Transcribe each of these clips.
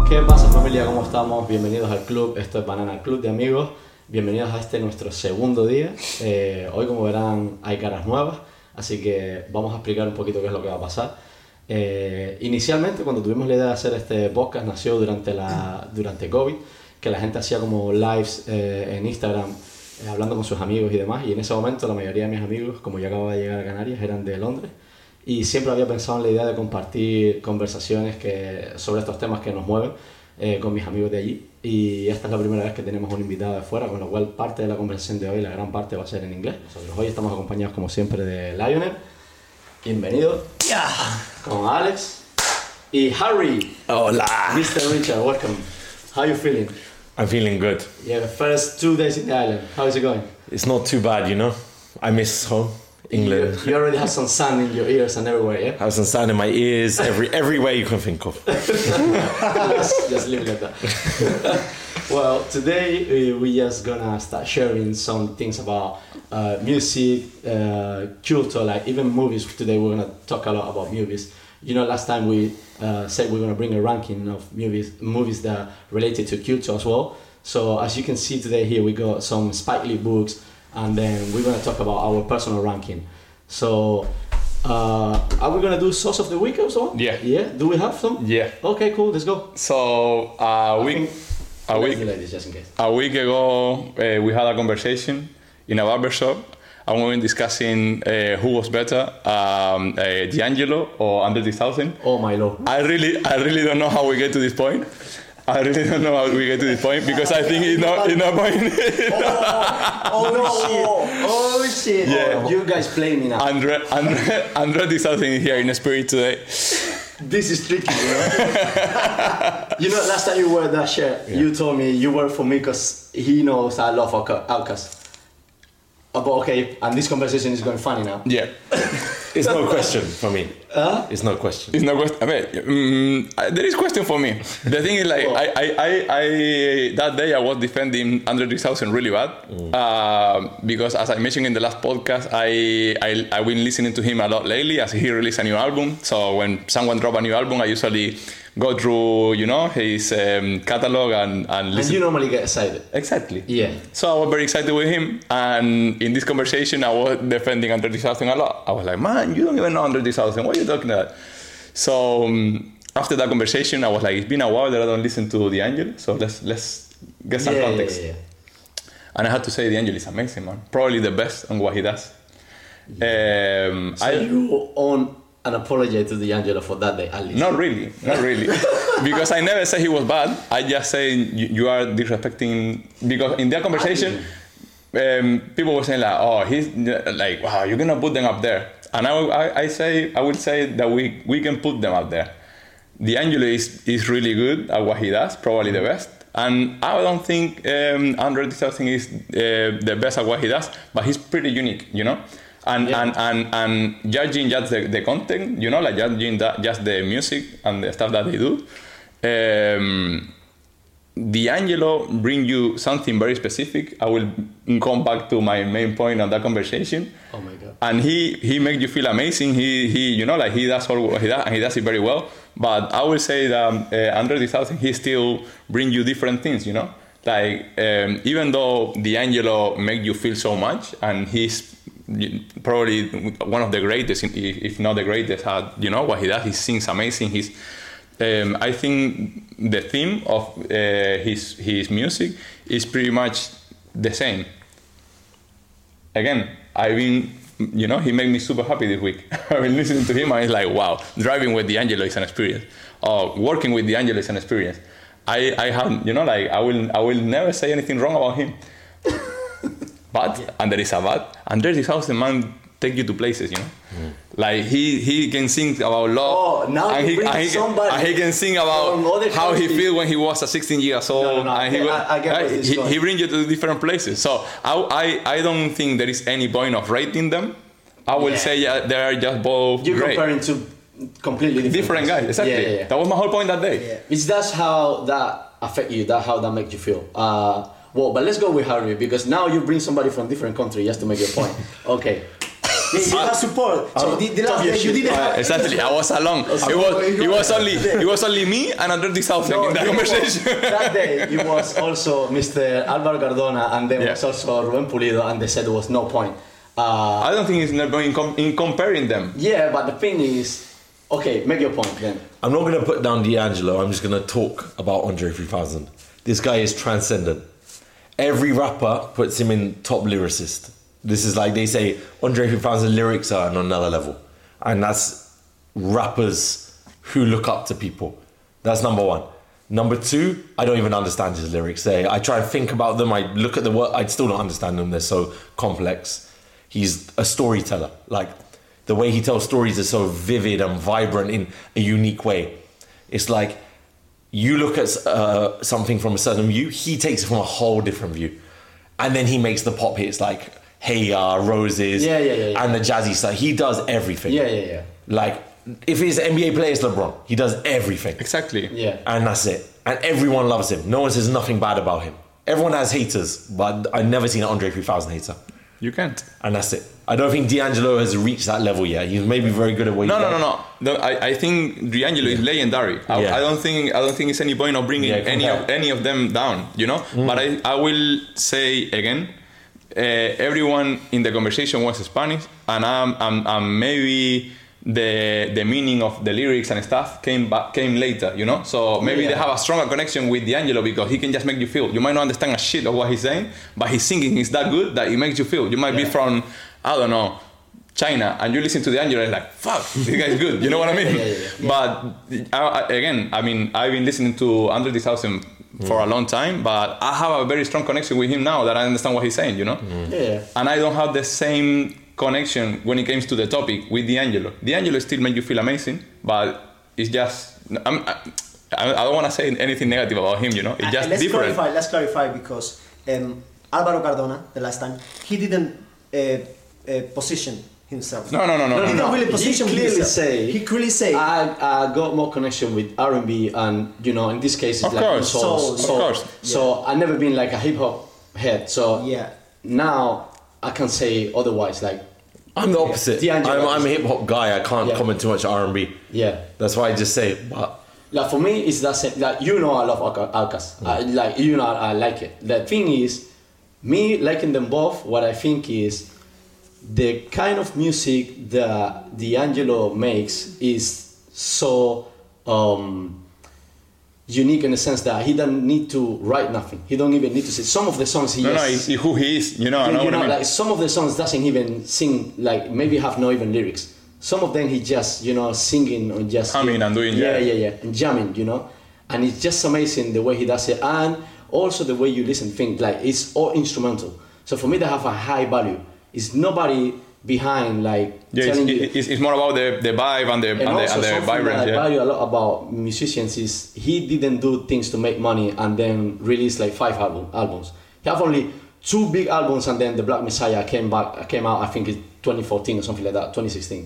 ¿Qué pasa, familia? ¿Cómo estamos? Bienvenidos al club. Esto es Banana Club de amigos. Bienvenidos a nuestro segundo día. Hoy, como verán, hay caras nuevas, así que vamos a explicar un poquito qué es lo que va a pasar. Inicialmente, cuando tuvimos la idea de hacer este podcast, nació durante COVID, que la gente hacía como lives en Instagram, hablando con sus amigos y demás, y en ese momento la mayoría de mis amigos, como yo acababa de llegar a Canarias, eran de Londres, y siempre había pensado en la idea de compartir conversaciones sobre estos temas que nos mueven con mis amigos de allí, y esta es la primera vez que tenemos un invitado de fuera, con lo cual parte de la conversación de hoy, la gran parte, va a ser en inglés. Nosotros hoy estamos acompañados como siempre de Lionel, bienvenido, con Alex y Harry. Hola. Mr. Richard, welcome. How are you feeling? I'm feeling good. Yeah, the first 2 days in the island, how is it going? It's not too bad, you know. I miss home, England. You already have some sun in your ears and everywhere, yeah? I have some sand in my ears, everywhere you can think of. Just leave it like that. Well, today we just gonna start sharing some things about music, culture, like even movies. Today we're gonna talk a lot about movies. You know, last time we said we're gonna bring a ranking of movies that related to culture as well. So as you can see today here, we got some Spike Lee books, and then we're gonna talk about our personal ranking. So, are we gonna do sauce of the week or so? Yeah. Yeah. Do we have some? Yeah. Okay, cool. Let's go. So Let's delay this just in case. a week ago, we had a conversation in a barbershop, and we were discussing who was better, D'Angelo or Andre 3000. Oh my lord. I really don't know how we get to this point. I really don't know how we get to this point because I think it's not point. Oh shit. Yeah. Oh, you guys play me now. Andre 3000 is here in spirit today. This is tricky, you know. You know, last time you wore that shirt, you told me you work for me because he knows I love Outcast. But okay, and this conversation is going funny now. Yeah. It's no question for me. It's no question. It's no question. I mean, there is question for me. The thing is, like, I that day I was defending Andre 3000 really bad because, as I mentioned in the last podcast, I've been listening to him a lot lately as he released a new album. So when someone drop a new album, I usually go through, you know, his catalog and listen. And you normally get excited. Exactly. Yeah. So I was very excited with him, and in this conversation, I was defending Andre 3000 a lot. I was like, man, you don't even know Andre 3000. What are you talking about? So after that conversation, I was like, it's been a while that I don't listen to D'Angelo, so let's get some context. Yeah. And I had to say D'Angelo is amazing, man. Probably the best on what he does. So you own an apology to D'Angelo for that day, at least? Not really. Because I never say he was bad. I just say you are disrespecting. Because in that conversation, people were saying like, oh, he's like, wow, you're gonna put them up there. And I will say that we can put them up there. D'Angelo is really good at what he does, probably the best. And I don't think Andre 3000 is the best at what he does, but he's pretty unique, you know. And judging just the content, you know, like judging just the music and the stuff that they do. D'Angelo bring you something very specific. I will come back to my main point on that conversation. Oh my god! And he makes you feel amazing. He you know, like he does all what he does, and he does it very well. But I will say that Andre 3000, he still bring you different things. You know, like even though D'Angelo make you feel so much, and he's probably one of the greatest, if not the greatest, at you know what he does. He sings amazing. I think the theme of his music is pretty much the same. Again, you know, he made me super happy this week. I've been listening to him and it's like, wow, driving with D'Angelo is an experience. Or working with D'Angelo is an experience. I have, you know, like I will never say anything wrong about him. But, and there is a but, and there is how the man take you to places, you know. Like he can sing about love, and he can sing about how he feel when he was 16 years old, and he brings you to different places. So I don't think there is any point of rating them. I will say they are just both You're great. Comparing to completely different guys. Exactly. Yeah. That was my whole point that day. Yeah. Is that how that affect you? How that make you feel? Well, but let's go with Harvey because now you bring somebody from different country just to make your point. Okay. You have support. So the last day you didn't have. Exactly. I was alone. It was only me and Andre 3000 in that conversation. That day it was also Mr. Álvaro Cardona and there was Yeah. also Rubén Pulido, and they said there was no point. I don't think it's not going in comparing them. Yeah, but the thing is, okay, make your point then. I'm not going to put down D'Angelo. I'm just going to talk about Andre 3000. This guy is transcendent. Every rapper puts him in top lyricist. This is like they say, Andre 3000 lyrics are on another level. And that's rappers who look up to people. That's number one. Number two, I don't even understand his lyrics. I try and think about them. I look at the word. I still don't understand them. They're so complex. He's a storyteller. Like, the way he tells stories is so vivid and vibrant in a unique way. It's like you look at something from a certain view, he takes it from a whole different view. And then he makes the pop hits like Hey Ya, Roses, and the jazzy stuff. He does everything. Yeah. Like, if he's an NBA player, it's LeBron. He does everything. Exactly. Yeah. And that's it. And everyone loves him. No one says nothing bad about him. Everyone has haters, but I've never seen an Andre 3000 hater. You can't. And that's it. I don't think D'Angelo has reached that level yet. He's maybe very good at what he does. No. I think D'Angelo is legendary. I don't think it's any point of bringing any of them down, you know? But I will say again, everyone in the conversation was Spanish, and maybe the meaning of the lyrics and stuff came later, you know? So maybe they have a stronger connection with D'Angelo because he can just make you feel. You might not understand a shit of what he's saying, but his singing is that good that it makes you feel. You might be from, I don't know, China, and you listen to D'Angelo and like, fuck, this guy's good. You know what I mean? But again, I mean, I've been listening to Andre 3000 for a long time, but I have a very strong connection with him now that I understand what he's saying, you know? Yeah. And I don't have the same connection when it comes to the topic with D'Angelo. D'Angelo still makes you feel amazing, but it's just I don't want to say anything negative about him, you know. It's just different. Let's clarify because Álvaro Cardona, the last time, he didn't position himself. No. He didn't really position himself. He clearly say I got more connection with R&B and, you know, in this case it's Of course. soul. So I've never been like a hip hop head. So now I can say otherwise. Like, I'm the opposite. I'm a hip hop guy. I can't Yeah. comment too much R&B. yeah. That's why I just say it. But Like for me, it's that same. Like, you know, I love Outkast. Like, you know, I like it. The thing is, me liking them both. What I think is the kind of music that D'Angelo makes is so unique in the sense that he doesn't need to write nothing. He don't even need to say. Some of the songs it's who he is. You know, I know what I mean. Like some of the songs doesn't even sing. Like maybe have no even lyrics. Some of them he just, you know, singing or just humming and doing and jamming, you know, and it's just amazing the way he does it, and also the way you listen, think like it's all instrumental. So for me, they have a high value. It's nobody behind like telling you. It's more about the vibe and the vibrance. I value a lot about musicians is he didn't do things to make money and then release like 5 albums. He have only 2 big albums, and then the Black Messiah came out. I think it's 2014 or something like that, 2016.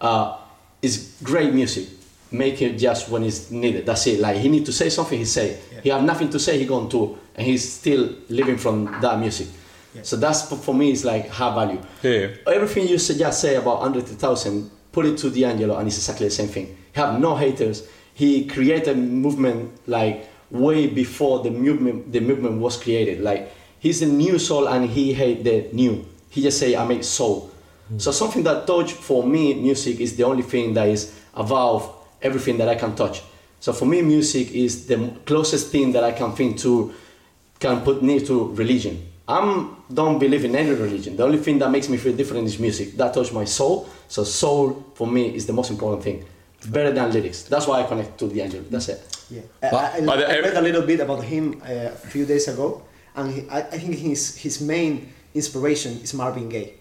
It's great music. Make it just when it's needed. That's it. Like he need to say something, he say. Yeah. He have nothing to say, he go on tour, and he's still living from that music. Yeah. So that's for me is like high value. Yeah. Everything you just say about Andre 3000, put it to D'Angelo, and it's exactly the same thing. He have no haters. He created movement like way before the movement was created. Like he's the new soul, and he hate the new. He just say I make soul. So something that touch for me, music is the only thing that is above everything that I can touch. So for me, music is the closest thing that I can think to, can put near to religion. Don't believe in any religion. The only thing that makes me feel different is music. That touch my soul. So soul for me is the most important thing. It's better than lyrics. That's why I connect to D'Angelo. That's it. Yeah. I read a little bit about him a few days ago, and I think his main inspiration is Marvin Gaye.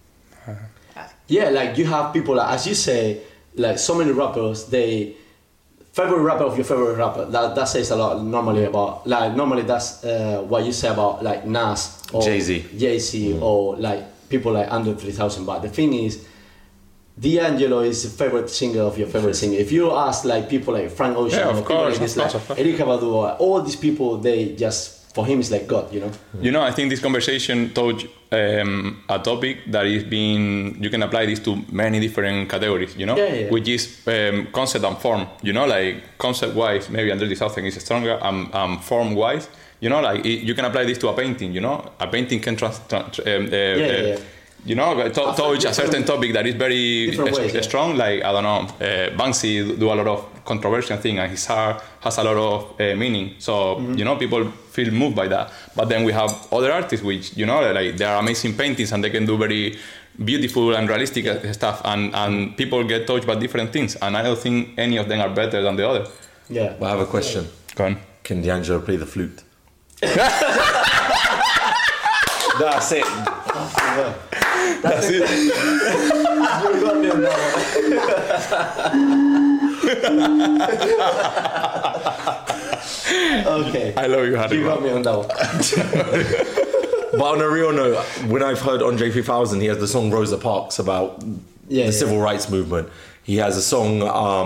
Yeah, like you have people, like, as you say, like so many rappers, they favorite rapper of your favorite rapper. That says a lot normally about, like normally that's what you say about like Nas or Jay-Z or like people like Andre 3000. But the thing is, D'Angelo is the favorite singer of your favorite singer. If you ask like people like Frank Ocean, of course, Erykah Badu, all these people, they just for him it's like God, you know. You know, I think this conversation touched a topic that is being, you can apply this to many different categories, you know, which is concept and form, you know, like concept-wise, maybe Andre 3000 is stronger, and form-wise, you know, like you can apply this to a painting, you know, a painting can you know, touch a certain topic that is very strong, like, I don't know, Banksy do a lot of controversial thing, and his art has a lot of meaning, so, you know, people feel moved by that. But then we have other artists which, you know, like, they are amazing paintings and they can do very beautiful and realistic stuff, and people get touched by different things, and I don't think any of them are better than the other. Yeah. But I have a question. Go on. Can D'Angelo play the flute? That's it. That's it. You got me on that one. Okay. I love you, Harry. You got me on that one. But on a real note, when I've heard Andre 3000, he has the song Rosa Parks about the civil rights movement. He has a song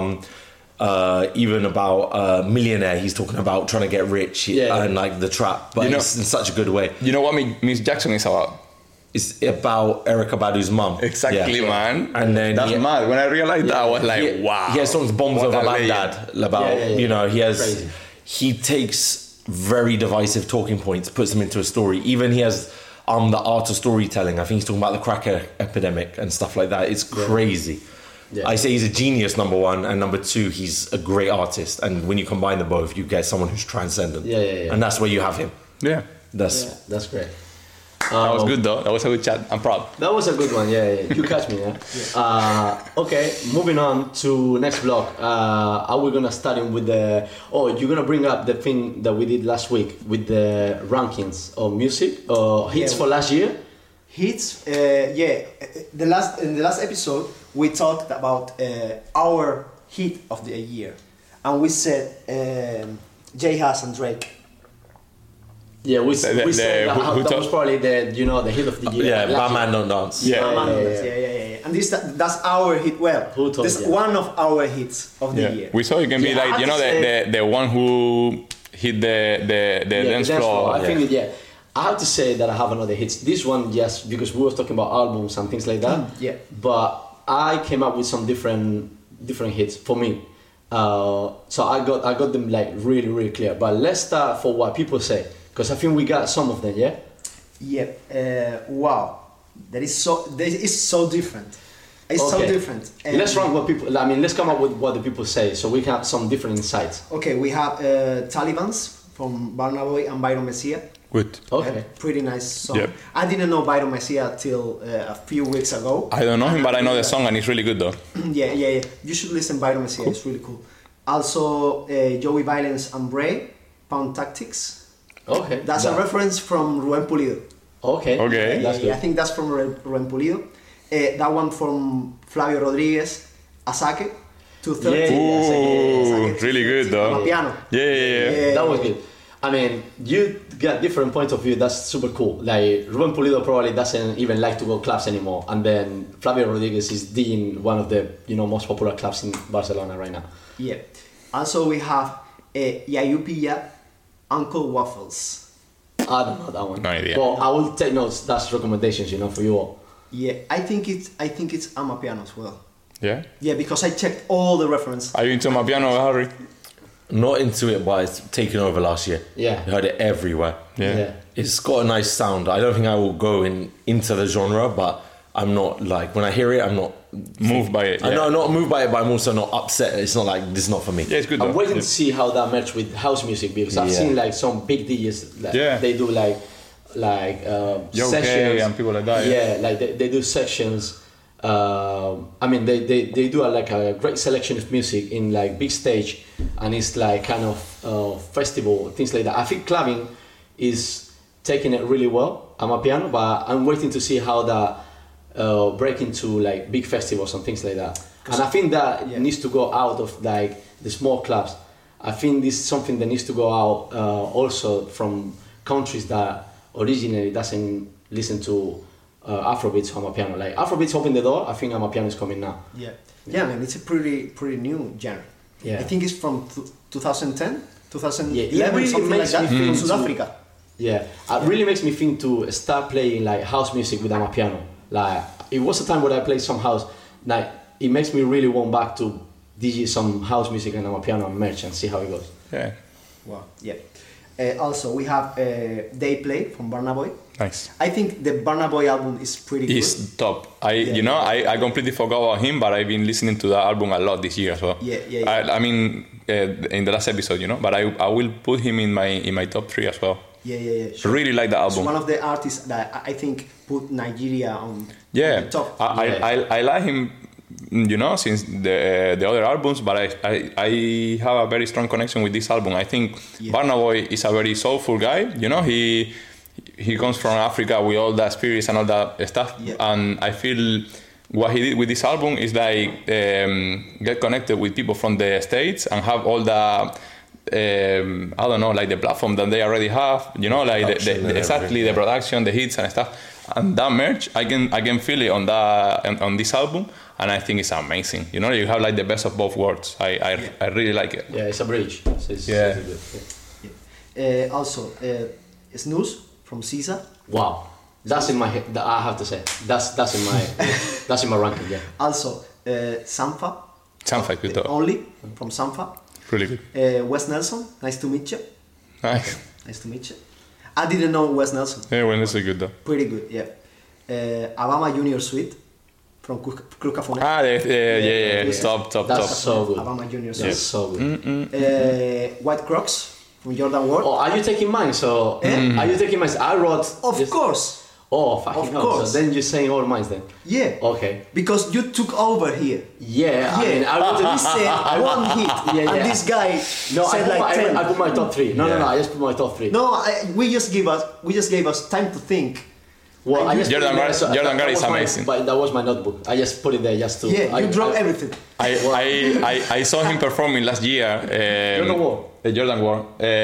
even about Millionaire. He's talking about trying to get rich and like the trap, but it's in such a good way. You know what Miss Jackson is about? It's about Erykah Badu's mum. Exactly, man. And then that's mad. When I realized that, I was like, wow. He has songs Bombs Over Baghdad about, you know, he takes very divisive talking points, puts them into a story. Even he has the art of storytelling. I think he's talking about the crack epidemic and stuff like that. It's crazy. Yeah. I say he's a genius, number one, and number two, he's a great artist. And when you combine them both, you get someone who's transcendent. And that's where you have him. That's great. That was good though. That was a good chat. I'm proud. That was a good one. You catch me. Okay, moving on to next vlog. Are we gonna start in with the? Oh, you're gonna bring up the thing that we did last week with the rankings of music hits for last year. Hits. In the last episode we talked about our hit of the year, and we said J Hus and Drake. Yeah, we said that was probably the hit of the year. Yeah, Bad Man Don't Dance. Yeah. And that's our hit. Well, this one of our hits of the year. We saw it can be like, you know, the one who hit the dance floor. I think I have to say that I have another hits. This one, yes, because we were talking about albums and things like that. But I came up with some different hits for me. So I got them like really, really clear. But let's start for what people say. Because I think we got some of them, wow, that is so different. It's so different. Let's rank what people. I mean, let's come up with what the people say, so we can have some different insights. Okay, we have Talibans from Burna Boy and Byron Messia. Good. Okay. Pretty nice song. Yep. I didn't know Byron Messia till a few weeks ago. I don't know him, but I know the song and it's really good though. Yeah. You should listen to Byron Messia. Cool. It's really cool. Also, Joey Violence and Bray, Pound Tactics. Okay. That's a reference from Rubén Pulido. Okay. I think that's from Rubén Pulido. That one from Flavio Rodriguez, Asake, 230. Ooh, really good though. Amapiano. Yeah. That was good. I mean, you got different points of view. That's super cool. Like Rubén Pulido probably doesn't even like to go clubs anymore, and then Flavio Rodriguez is in one of the most popular clubs in Barcelona right now. Yeah. Also, we have Yayu Pilla, Uncle Waffles. I don't know that one. No idea. Well, I will take notes. That's recommendations, for you all. Yeah, I think it's Amapiano as well. Yeah. Yeah, because I checked all the references. Are you into Amapiano, Harry? Not into it, but it's taken over last year. Yeah. I heard it everywhere. Yeah. It's got a nice sound. I don't think I will go into the genre, but I'm not like, when I hear it, I'm not moved by it. I'm not moved by it, but I'm also not upset. It's not like, this is not for me. Yeah, it's good though. I'm waiting to see how that matches with house music, because I've seen like some big DJs they do like sessions and people like that. Yeah, like they do sessions. I mean, they do like a great selection of music in like big stage, and it's like kind of festival, things like that. I think clubbing is taking it really well. Amapiano, but I'm waiting to see how that break into like big festivals and things like that. And I think that needs to go out of like the small clubs. I think this is something that needs to go out also from countries that originally doesn't listen to Afrobeats or Amapiano. Like Afrobeats opened the door. I think Amapiano is coming now. Yeah, man, it's a pretty new genre. I think it's from 2010, 2011, something like that, from South Africa. Yeah, it really makes me think to start playing like house music with my piano. Like it was a time when I played some house. Like it makes me really want back to DJ some house music and my piano and merch and see how it goes. Yeah, Wow. Yeah. Also, we have Day Play from Burna Boy. nice. I think the Burna Boy album is pretty good. He's top. I completely forgot about him, but I've been listening to that album a lot this year as well. Yeah. I mean, in the last episode, but I will put him in my top 3 as well. Yeah. I really like the It's album. one of the artists that I think put Nigeria on Yeah, the top. I like him, since the other albums, but I have a very strong connection with this album. I think Burna Boy is a very soulful guy. He comes from Africa with all that spirits and all that stuff, and I feel what he did with this album is like get connected with people from the States and have all the I don't know, like the platform that they already have, like the production, the hits and stuff, and that merch I can feel it on this album, and I think it's amazing. You have like the best of both worlds. I really like it. Yeah, it's a bridge. So it's Yeah. really good. Also, Snooze from Caesar. Wow, that's in my head. I have to say that's in my that's in my ranking. Yeah. Also, Sampha. Sounds like good though. Only from Sampha. Really good. Wes Nelson. Nice to meet you. Nice. Nice to meet you. I didn't know Wes Nelson. Yeah, well, it's good though. Pretty good, yeah. Abama Junior Suite from Krukaphone. Yeah. Yeah. Top. That's so good. Abama Junior That's Suite. so good. White Crocs from Jordan Ward. Oh, are you taking mine? So are you taking mine? I wrote. Of just- course. Oh, fucking Of hell. course. So then you're saying all mine then. Yeah. Okay. Because you took over here. Yeah. I mean, I wrote He it. said one hit, Yeah. and this guy No, said like 10. I put my top 3. No, I just put my top 3. No, we just gave us time to think. Well, I just Jordan put it there, Gar- Jordan that Gar is was my- amazing. But that was my notebook. I just put it there just to. Yeah, you dropped I, everything. I saw him performing last year. Jordan Ward. Jordan Ward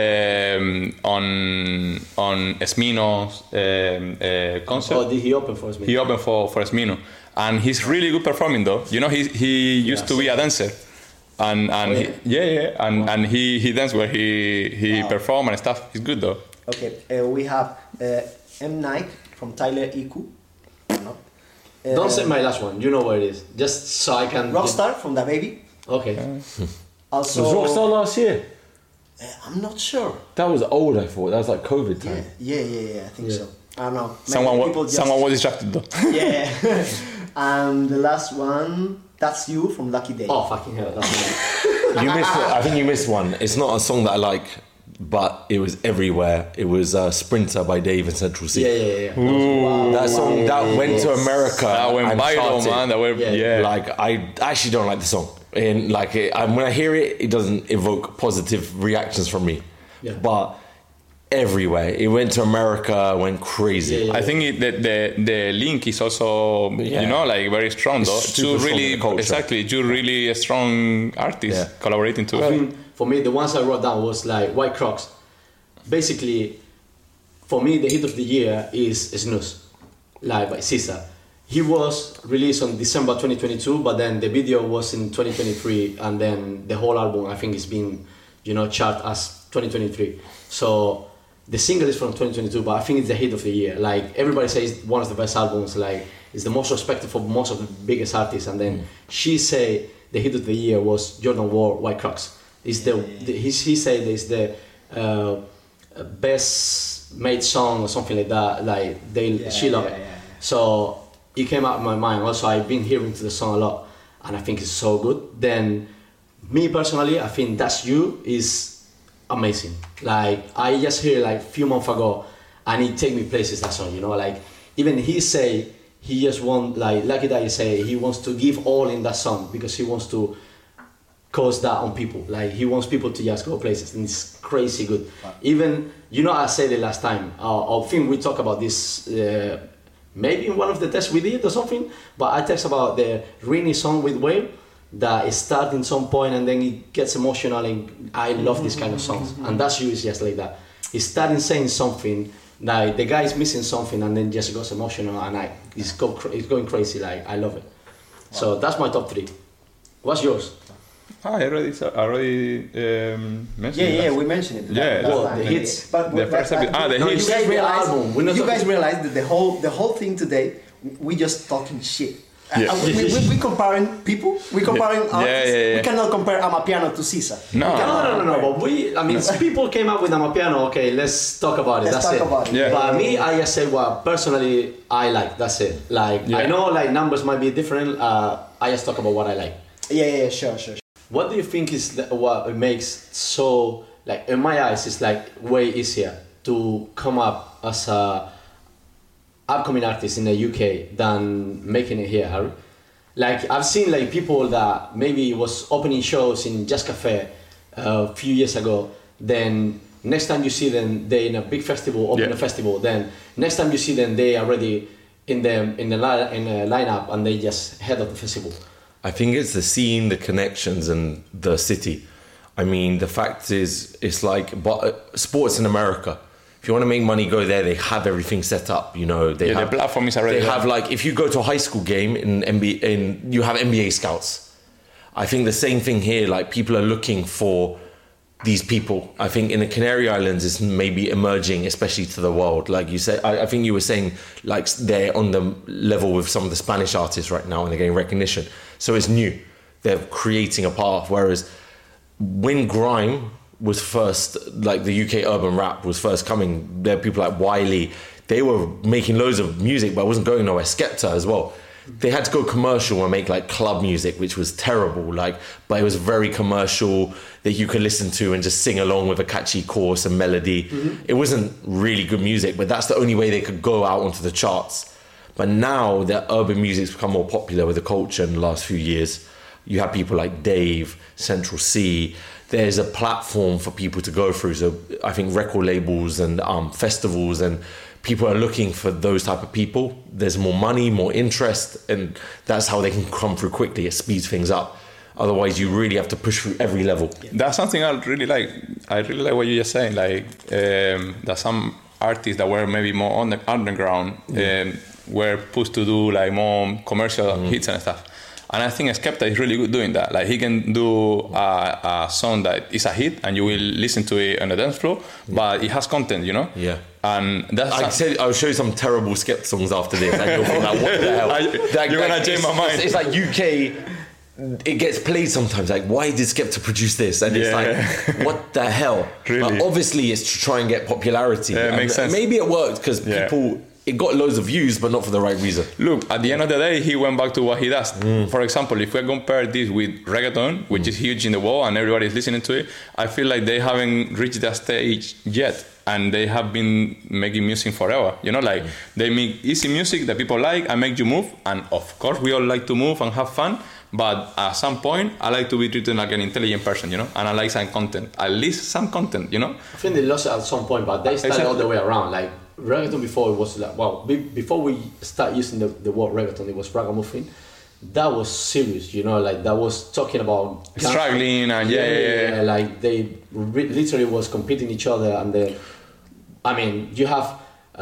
on Esmino's concert. Oh, did he open for us? He opened for Esmino, and he's really good performing though. He used to be a dancer, and and he danced where he performed and stuff. He's good though. Okay, we have M. Nike from Tyler Iku. No. Don't say my last one. You know where it is. Just so I can. Rockstar from Da Baby. Okay. Also, Was Rockstar last year? I'm not sure. That was old, I thought. That was like COVID time. Yeah, I think so. I don't know. Maybe Someone people just- was distracted though. Yeah. And the last one, That's You from Lucky Day. Oh fucking hell! That's me. You missed. I think you missed one. It's not a song that I like, but it was everywhere. It was Sprinter by Dave and Central C. Yeah. That song that went to America. That went and viral, charted. man. That went, yeah. Like I actually don't like the song, and like when I hear it, it doesn't evoke positive reactions from me. Yeah. But everywhere, it went to America, went crazy. Yeah. I think the link is also like very strong though. It's super Two strong in really the culture. exactly two really strong artists Yeah. collaborating I together. think for me, the ones I wrote down was like White Crocs. Basically, for me, the hit of the year is Snooze, like by Caesar. He was released on December 2022, but then the video was in 2023, and then the whole album I think is being, chart as 2023. So the single is from 2022, but I think it's the hit of the year. Like everybody says, one of the best albums. Like it's the most respected for most of the biggest artists, and then she say the hit of the year was Jordan Ward, White Crocs. It's he said it's the best made song or something like that. Like she love it. So it came out of my mind. Also, I've been hearing to the song a lot, and I think it's so good. Then, me personally, I think That's You is amazing. Like I just hear like a few months ago, and it take me places. That song, like even he say he just want like Lucky Day say he wants to give all in that song because he wants to cause that on people. Like he wants people to just go places, and it's crazy good. Even I said it last time. I think we talked about this maybe in one of the tests we did or something. But I text about the Rini song with Whale that it starts in some point and then it gets emotional. And I love this kind of songs, and That's You is just like that. He starting saying something. Like the guy is missing something and then just goes emotional and it's going crazy. Like I love it. So that's my top 3. What's yours? I already mentioned Yeah, that. we mentioned it. Yeah, last well, time. the hits. The first episode. The No, hits. you guys realize, You guys realize that the whole thing today, we just talking shit. Yeah. We comparing people. We comparing artists. yeah. We cannot compare Amapiano to Caesar. No. We cannot No. compare. But I mean, people came up with Amapiano. Okay, let's talk about it. Let's That's talk it. about it. Yeah. But me, I just said what personally I like. That's it. Like Yeah. I know like numbers might be different. I just talk about what I like. Yeah, sure. What do you think is what it makes so like in my eyes it's like way easier to come up as a upcoming artist in the UK than making it here, Harry? Like I've seen like people that maybe was opening shows in Jazz Cafe a few years ago. Then next time you see them, they in a big festival, open a festival. Then next time you see them, they are already in the lineup and they just head of the festival. I think it's the scene, the connections, and the city. I mean, the fact is, it's like sports in America. If you want to make money, go there. They have everything set up. You know, they have the platform is already They there. have like if you go to a high school game in NBA, you have NBA scouts. I think the same thing here. Like people are looking for these people. I think in the Canary Islands it's maybe emerging, especially to the world. Like you said, I think you were saying like they're on the level with some of the Spanish artists right now and they're getting recognition. So it's new. They're creating a path. Whereas when grime was first, like the UK urban rap was first coming, there were people like Wiley. They were making loads of music, but it wasn't going nowhere. Skepta as well. They had to go commercial and make like club music, which was terrible. Like, but it was very commercial that you could listen to and just sing along with a catchy chorus and melody. It wasn't really good music, but that's the only way they could go out onto the charts. But now that urban music's become more popular with the culture in the last few years, you have people like Dave, Central C. There's a platform for people to go through. So I think record labels and festivals and people are looking for those type of people. There's more money, more interest, and that's how they can come through quickly. It speeds things up. Otherwise, you really have to push through every level. That's something I really like. I really like what you're just saying. Like that some artists that were maybe more on the underground were pushed to do like more commercial hits and stuff. And I think Skepta is really good doing that. Like he can do a song that is a hit and you will listen to it on the dance floor, but it has content, you know? Yeah. And that's I'll show you some terrible Skepta songs after this. And you'll think like, what the hell? You're gonna change my mind. It's like UK. It gets played sometimes. Like, why did Skepta produce this? And it's like, what the hell? Really? But obviously, it's to try and get popularity. Yeah, it And makes sense. Maybe it worked because people. It got loads of views, but not for the right reason. Look, at the end of the day, he went back to what he does. For example, if we compare this with reggaeton, which is huge in the world and everybody's listening to it, I feel like they haven't reached that stage yet. And they have been making music forever. You know, like they make easy music that people like and make you move. And of course, we all like to move and have fun. But at some point, I like to be treated like an intelligent person, you know, and I like some content, at least some content, you know. I think they lost it at some point, but they started all the way around. Like reggaeton before it was like, wow, before we start using the word reggaeton, it was ragamuffin. That was serious, you know, like that was talking about Struggling and yeah. like they literally was competing each other. And then, I mean, you have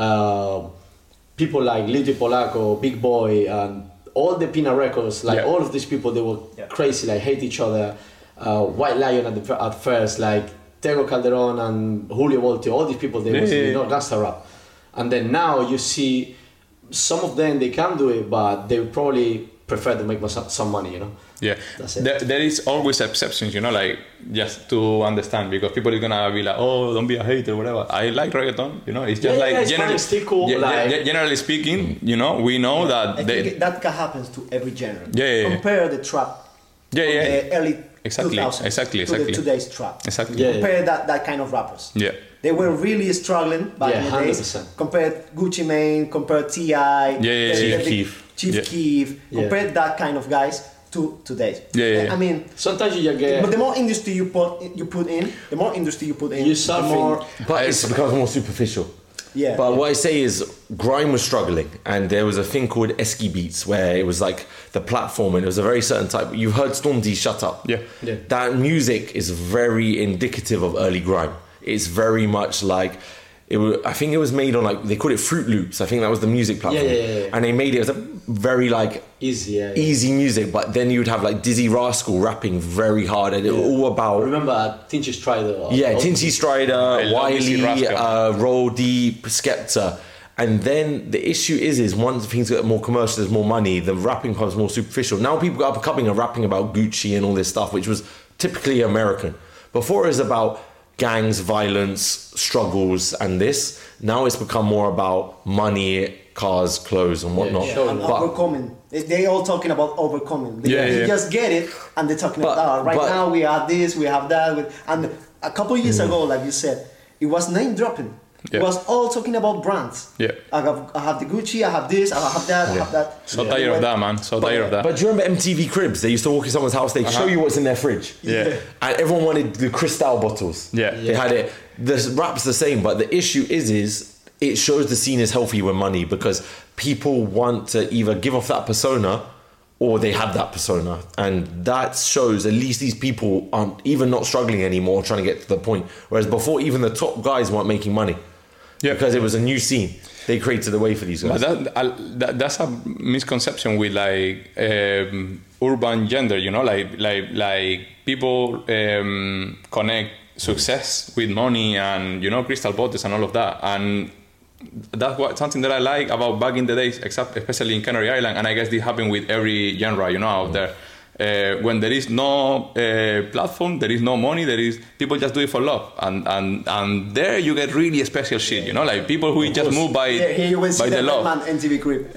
people like Lil Polaco, Big Boy, and all the Pina Records, like all of these people, they were crazy, like hate each other. White Lion at first, like Tego Calderon and Julio Voltio, all these people, they was, you know, gangsta rap. And then now you see some of them, they can do it, but they probably prefer to make some money, you know. Yeah, that's it. There is always exceptions, you know, like just to understand, because people are gonna be like, oh, don't be a hater, whatever. I like reggaeton, you know. It's just like it's generally, still cool, generally speaking, you know, we know that I think that happens to every genre. Yeah. Compare the trap from the early 2000s exactly. to today's trap. Exactly. Yeah. Compare that kind of rappers. Yeah. They were really struggling back in the days. 100%. Compare Gucci Mane, compare T.I., Chief Keef. Chief Keef. Compare that kind of guys to today. Yeah. I mean, Sometimes you just get... but the more industry you put in, You start the more. But it becomes more superficial. Yeah. But what I say is, grime was struggling, and there was a thing called Esky Beats, where it was like the platform, and it was a very certain type. You've heard Storm D, Shut Up. Yeah. That music is very indicative of early grime. It's very much like I think it was made on, like, they called it Fruit Loops. I think that was the music platform. Yeah. And they made it as a very like easy music, but then you'd have like Dizzy Rascal rapping very hard, and it was all about. Remember Tinchy Strider? Tinchy Strider, love Dizzy Wiley, Rascal. Roll Deep, Skepta. And then the issue is once things get more commercial, there's more money, the rapping becomes more superficial. Now people are becoming and rapping about Gucci and all this stuff, which was typically American. Before it was about gangs, violence, struggles, and this. Now it's become more about money, cars, clothes, and whatnot. And overcoming. They all talking about overcoming. They just get it, and they're talking about now we have this, we have that. And a couple of years ago, like you said, it was name dropping. It was all talking about brands. Yeah. I have the Gucci, I have this, I have that, I have that. So tired of that, man. So tired of that. But do you remember MTV Cribs? They used to walk in someone's house, they'd show you what's in their fridge. Yeah. And everyone wanted the Cristal bottles. Yeah. They had it. The rap's the same, but the issue is it shows the scene is healthy with money because people want to either give off that persona or they have that persona. And that shows at least these people aren't even not struggling anymore, trying to get to the point. Whereas before, even the top guys weren't making money. Yeah. Because it was a new scene. They created a way for these guys. But that's a misconception with like urban gender, you know, like people connect success with money and, you know, crystal bottles and all of that. And that's something that I like about back in the days, especially in Canary Island. And I guess this happened with every genre, you know, out there. When there is no platform, there is no money, there is people just do it for love, and there you get really special shit, you know, like people who just move by here you will see the the love. Redman MTV Crib.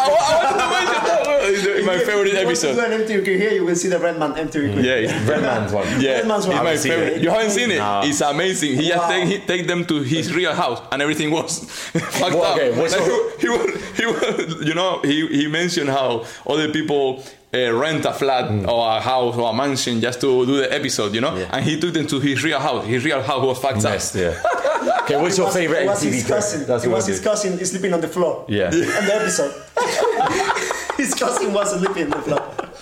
It's my favorite episode. If you want to do an MTV Crib here, you will see the Redman MTV Crib. Yeah, it's Redman's one. Yeah, Redman's one. it's my Haven't seen favorite. it. You haven't seen it? No. It's amazing. He just take them to his real house, and everything was fucked up. Okay, what's Like, he was, you know, he mentioned how other people rent a flat or a house or a mansion just to do the episode, you know, and he took them to his real house. His real house was fucked up. Yes, yeah. Okay, what's your favorite It was MTV his clip? cousin. That's It what was I his do. cousin sleeping on the floor. Yeah. On the episode. His cousin was sleeping on the floor.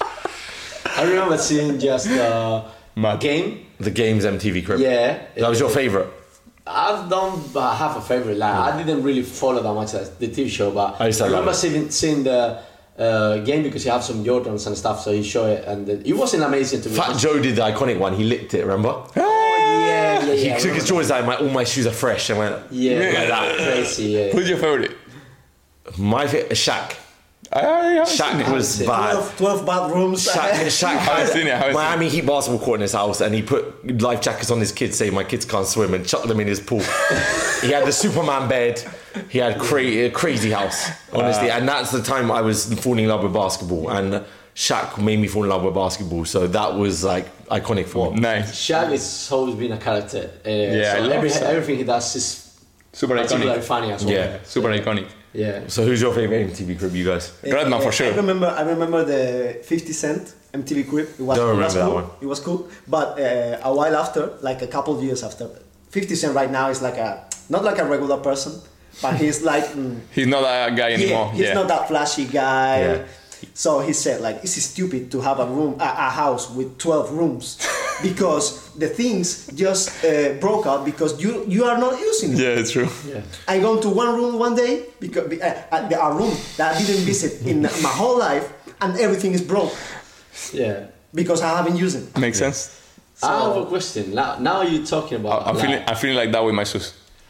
I remember seeing just game. The Games MTV Crib. Yeah. That was your favorite. I don't have a favorite. Like I didn't really follow that much as the TV show, but I used to I remember love it. seeing the game because he had some Jordans and stuff, so he showed it, and it wasn't amazing to me. Fat Joe did the iconic one. He licked it, remember? Yeah, He I took his remember. jaws out, all my shoes are fresh, and went, Yeah, like that. crazy. Yeah. Who's your favorite? My favorite, Shaq. I Shaq was it. bad. 12 bathrooms. Shaq haven't seen it, I had haven't Miami Heat basketball court in his house, and he put life jackets on his kids, saying my kids can't swim, and chucked them in his pool. He had the Superman bed. He had a crazy house, honestly, and that's the time I was falling in love with basketball, and Shaq made me fall in love with basketball, so that was like iconic for me. nice. Shaq has always been a character. Yeah, I love Shaq. Everything he does is Super particularly iconic. funny as well. Yeah. Super iconic. Yeah. So who's your favorite MTV Crib, you guys? Redman for sure. I remember the 50 Cent MTV Crib. It was, Don't it was remember that cool. one. It was cool. But a while after, like a couple of years after, 50 Cent right now is like not like a regular person, but he's like He's not that guy anymore. he's not that flashy guy. Yeah. So he said like it's stupid to have a house with 12 rooms because the things just broke out because you are not using it. Yeah, it's true. Yeah. I go to one room one day because a room that I didn't visit in my whole life, and everything is broke Yeah. because I haven't used it. Makes sense. I have a question. Now you're talking about. I'm feeling like that with my shoes.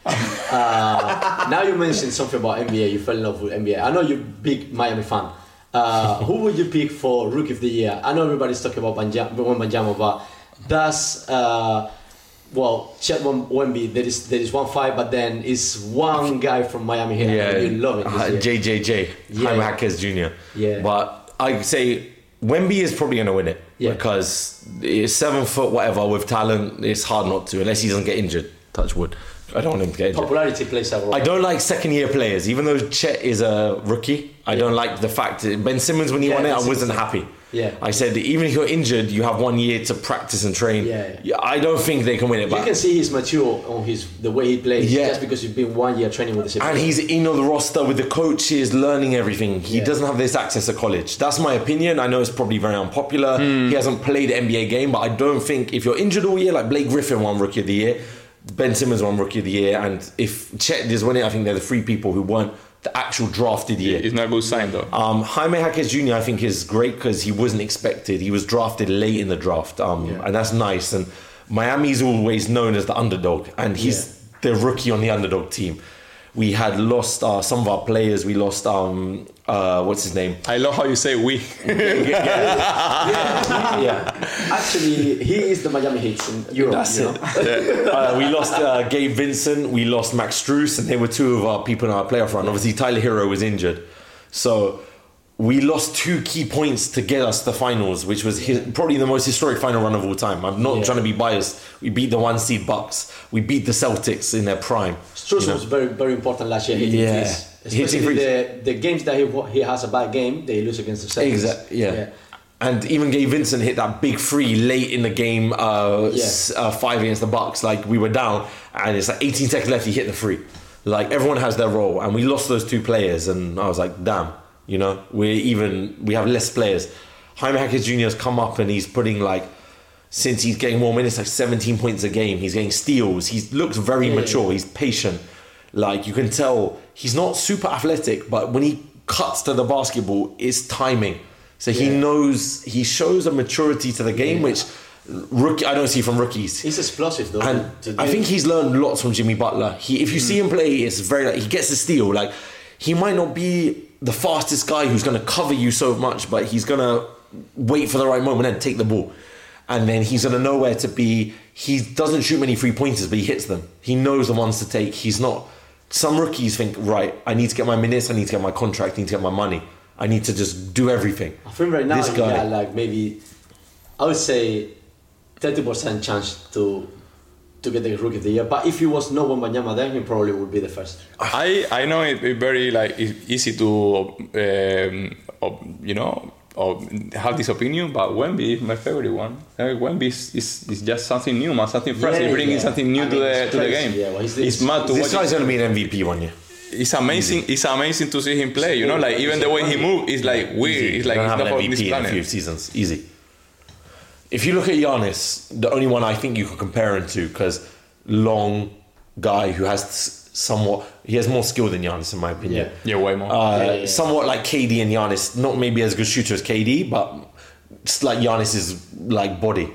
Now you mentioned something about NBA. You fell in love with NBA. I know you're a big Miami fan. Who would you pick for Rookie of the Year? I know everybody's talking about Wembanyama, but that's Chet Wemby. There is one fight, but then it's one guy from Miami here. Yeah, and you love it. This year. JJJ, Yeah. Jaime Jaquez Jr. Yeah. But I say Wemby is probably going to win it Yeah. because it's 7 foot whatever with talent. It's hard not to unless he doesn't get injured. Touch wood. I don't want him to get injured. Popularity plays a role. I don't like second-year players, even though Chet is a rookie. I don't like the fact that Ben Simmons when he won it, I wasn't happy. Yeah. I said that even if you're injured, you have 1 year to practice and train. Yeah. I don't think they can win it. You But can see he's mature on the way he plays. Yeah. Just because he's been 1 year training with the same and team. he's in on the roster with the coaches, learning everything. He Yeah. doesn't have this access to college. That's my opinion. I know it's probably very unpopular. He hasn't played an NBA game, but I don't think if you're injured all year, like Blake Griffin won Rookie of the Year, Ben Simmons won Rookie of the Year, and if Chet does win it, I think they're the 3 people who weren't the actual drafted year. It's not a good sign though. Jaime Jaquez Jr. I think is great because he wasn't expected. He was drafted late in the draft, and that's nice. And Miami's always known as the underdog, and he's the rookie on the underdog team. We had lost some of our players. We lost what's his name? I love how you say we. Actually, he is the Miami Heat in Europe. That's it. We lost Gabe Vincent. We lost Max Strus, and they were two of our people in our playoff run. Obviously, Tyler Hero was injured, so we lost 2 key points to get us to the finals, which was probably the most historic final run of all time. I'm not trying to be biased. We beat the 1 seed Bucks. We beat the Celtics in their prime. Strus was very, very important last year. Hitting threes. Especially the games that he has a bad game, they lose against the Celtics. Exactly. Yeah. And even Gabe Vincent hit that big free late in the game, 5 against the Bucks. Like, we were down, and it's like 18 seconds left. He hit the free. Like, everyone has their role, and we lost those 2 players, and I was like, damn. You know, we have less players. Jaime Jaquez Jr. has come up and he's putting since he's getting more minutes, 17 points a game. He's getting steals. He looks very mature. He's patient. Like, you can tell he's not super athletic, but when he cuts to the basketball, it's timing. So he knows, he shows a maturity to the game, which I don't see from rookies. He's explosive though. And I think he's learned lots from Jimmy Butler. If you see him play, it's very he gets the steal. Like, he might not be the fastest guy who's going to cover you so much, but he's going to wait for the right moment and take the ball. And then he's going to know where to be. He doesn't shoot many 3-pointers, but he hits them. He knows the ones to take. He's not... Some rookies think, right, I need to get my minutes, I need to get my contract, I need to get my money. I need to just do everything. I think right now, maybe, I would say 30% chance to get the Rookie of the Year. But if he was no Wembanyama, then he probably would be the first. I know it's very it's easy to have this opinion, but Wemby is my favorite one. Wemby is just something new, man, something fresh. He's bringing something new to the game. Yeah, well, it's mad to watch. This guy's gonna be an MVP one year. It's amazing. It's amazing to see him play. You know, like even the way he moves is like weird. Easy. It's like he's not an on MVP this in planet. a few seasons. Easy. If you look at Giannis, the only one I think you can compare him to, because long guy who has he has more skill than Giannis in my opinion. Yeah, way more. Somewhat like KD and Giannis, not maybe as good shooter as KD, but just like Giannis's like body.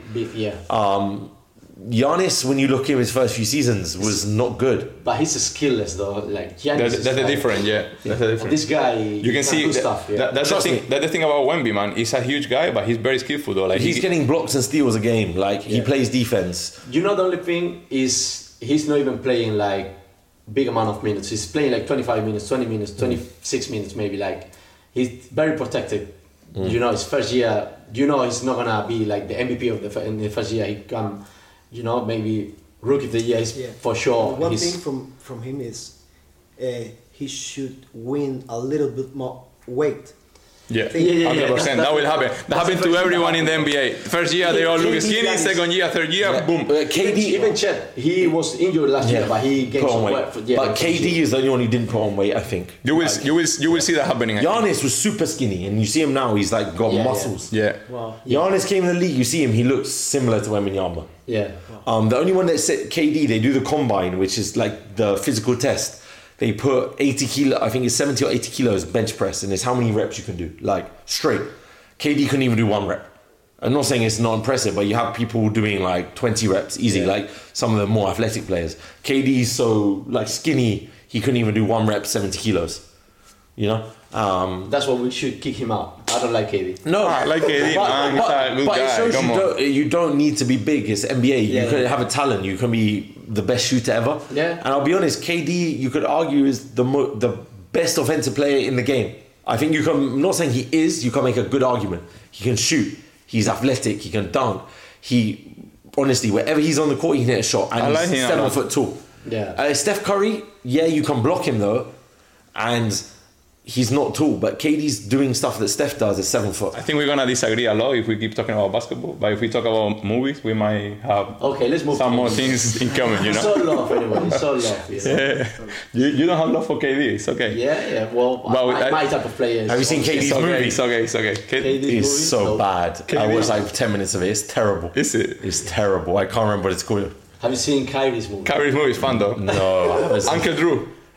Giannis, when you look at him his first few seasons, was not good. But he's skillless though. Like Giannis that's the difference. Yeah, that's the difference. This guy, you can see stuff. Yeah. That's the thing. That's the thing about Wemby, man. He's a huge guy, but he's very skillful though. Like he's getting blocks and steals a game. Like he plays defense. You know, the only thing is he's not even playing like big amount of minutes. He's playing like 25 minutes, 20 minutes, 26 minutes maybe. Like he's very protected. You know, his first year. You know, he's not gonna be like the MVP of in the first year. He come. You know, maybe Rookie of the Year is for sure. One thing from him is he should win a little bit more weight. Yeah, 100%. That will happen. That happened to everyone in the NBA. First year they all look skinny. Second year, third year, boom. KD, even Chet, he was injured last year, but he gained some weight. But KD is the only one who didn't put on weight, I think. You will see that happening. Giannis was super skinny, and you see him now. He's like got muscles. Yeah. Wow. Giannis came in the league. You see him. He looks similar to Wembanyama. Yeah. The only one that said KD, they do the combine, which is like the physical test. They put 80 kilo, I think it's 70 or 80 kilos bench press, and it's how many reps you can do, like straight. KD couldn't even do 1 rep. I'm not saying it's not impressive, but you have people doing like 20 reps easy, like some of the more athletic players. KD's so like skinny, he couldn't even do 1 rep, 70 kilos. You know? That's why we should kick him out. I don't like KD. No, I like KD, man. He's a good guy. It shows you don't need to be big. It's NBA. You can have a talent. You can be the best shooter ever. Yeah. And I'll be honest, KD, you could argue is the best offensive player in the game. I think you can. I'm not saying he is. You can make a good argument. He can shoot. He's athletic. He can dunk. He honestly, wherever he's on the court, he can hit a shot. And he's 7 foot tall. Yeah. Steph Curry, you can block him though, and he's not tall, but KD's doing stuff that Steph does at 7 foot. I think we're gonna disagree a lot if we keep talking about basketball. But if we talk about movies, we might have let's move some more things in common. You know. So love anyway. So love. Yeah. You don't have love for KD. It's okay. Yeah. Well, my type of player. Have you seen KD's movie? It's okay. It's so bad. I watched like 10 minutes of it. It's terrible. Is it? It's terrible. I can't remember what it's called. Have you seen Kyrie's movie? Kyrie's movie is fun though. No. Uncle Drew.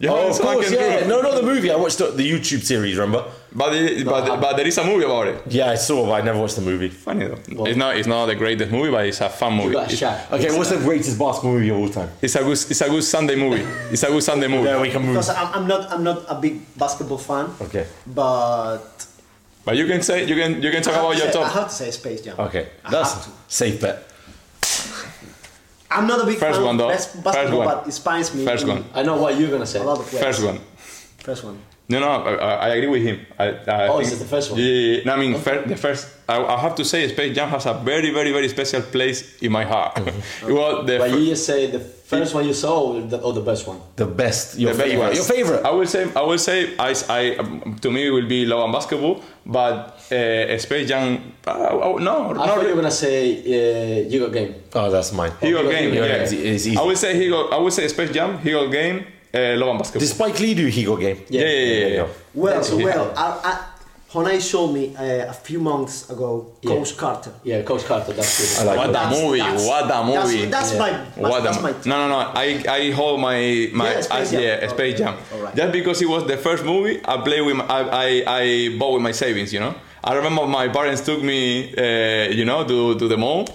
You Oh, haven't of seen course, Spank and yeah. True? No, not the movie. I watched the YouTube series, remember? But there is a movie about it. Yeah, I saw, but I never watched the movie. Funny though. Well, It's not the greatest movie, but it's a fun movie. You got It's, Shaq. Okay, what's the greatest basketball movie of all time? it's a good Sunday movie. It's a good Sunday movie. Yeah, we can move. Because I'm not a big basketball fan, Okay. but But you can say you can talk about your I top. have to say Space Jam. Okay, I that's have to. safe bet. I'm not a big First fan one, though. of basketball, First one. but it inspires me. First in one. I know what you're gonna say. A lot of players. First one. First one. No, I agree with him. I Oh, think- is it the first one? Yeah. No, I mean, the first. I have to say, Space Jam has a very, very, very special place in my heart. It was the But fir- you just say the first one you saw or the best one? The best, your the best favorite. ones. Your favorite. I will say, to me, it will be Love and Basketball, but Space Jam. No, I no. thought you were gonna say You Got Game. Oh, that's mine. He got game. Yeah, Yeah, it's easy. I will say Space Jam. He got game. Love and Basketball. Did Spike Lee do He Got Game? Yeah. Well, That's- Honai showed me a few months ago Coach Carter. Yeah, Coach Carter. That's good. I like What that. a movie! What a movie! That's Yeah. that's my No. I hold my Yeah, Space Jam. Space Jam. Alright. Just because it was the first movie I played with. I bought with my savings. You know. I remember my parents took me, to the mall,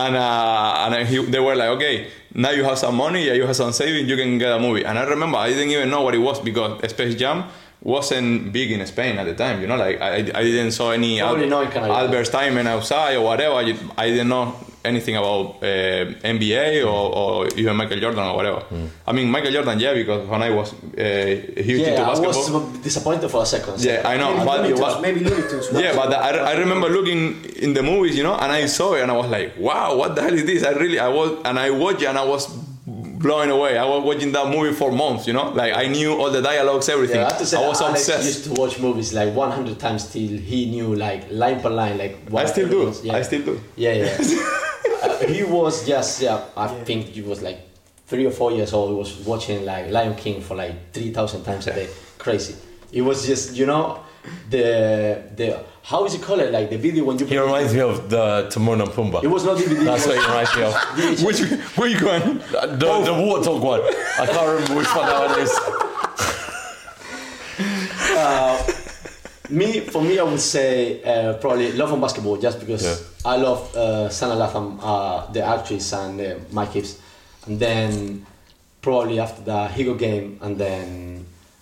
and they were like, okay, now you have some money, yeah, you have some savings, you can get a movie. And I remember I didn't even know what it was because Space Jam wasn't big in Spain at the time. You know, like I didn't saw any Probably not in Canada. Albert Steinman outside or whatever. I didn't know anything about NBA or even Michael Jordan or whatever. I mean, Michael Jordan, yeah, because when I was huge into Yeah, I basketball. was disappointed for a second. Yeah, I know. maybe Looney Tunes. Yeah, but I remember looking in the movies, you know, and I saw it and I was like, wow, what the hell is this? I watched it and I was blown away. I was watching that movie for months, you know, like I knew all the dialogues, everything. Yeah, I have to say I was Alex obsessed. used to watch movies like 100 times till he knew like line per line like what I still do. everyone's- Yeah. I still do. Yeah. He was just I think he was like 3 or 4 years old. He was watching like Lion King for like 3,000 times a day. Crazy. It was just the how is it called? Like the video when you. He reminds me of the Timon and Pumbaa. It was not DVD. That's what he reminds me of. Which one? The Warthog one. I can't remember which one that one is. For me, I would say probably Love and Basketball, just because I love Sana Latham, the actress, and Mike Gibbs, and then probably after the He Got Game, and then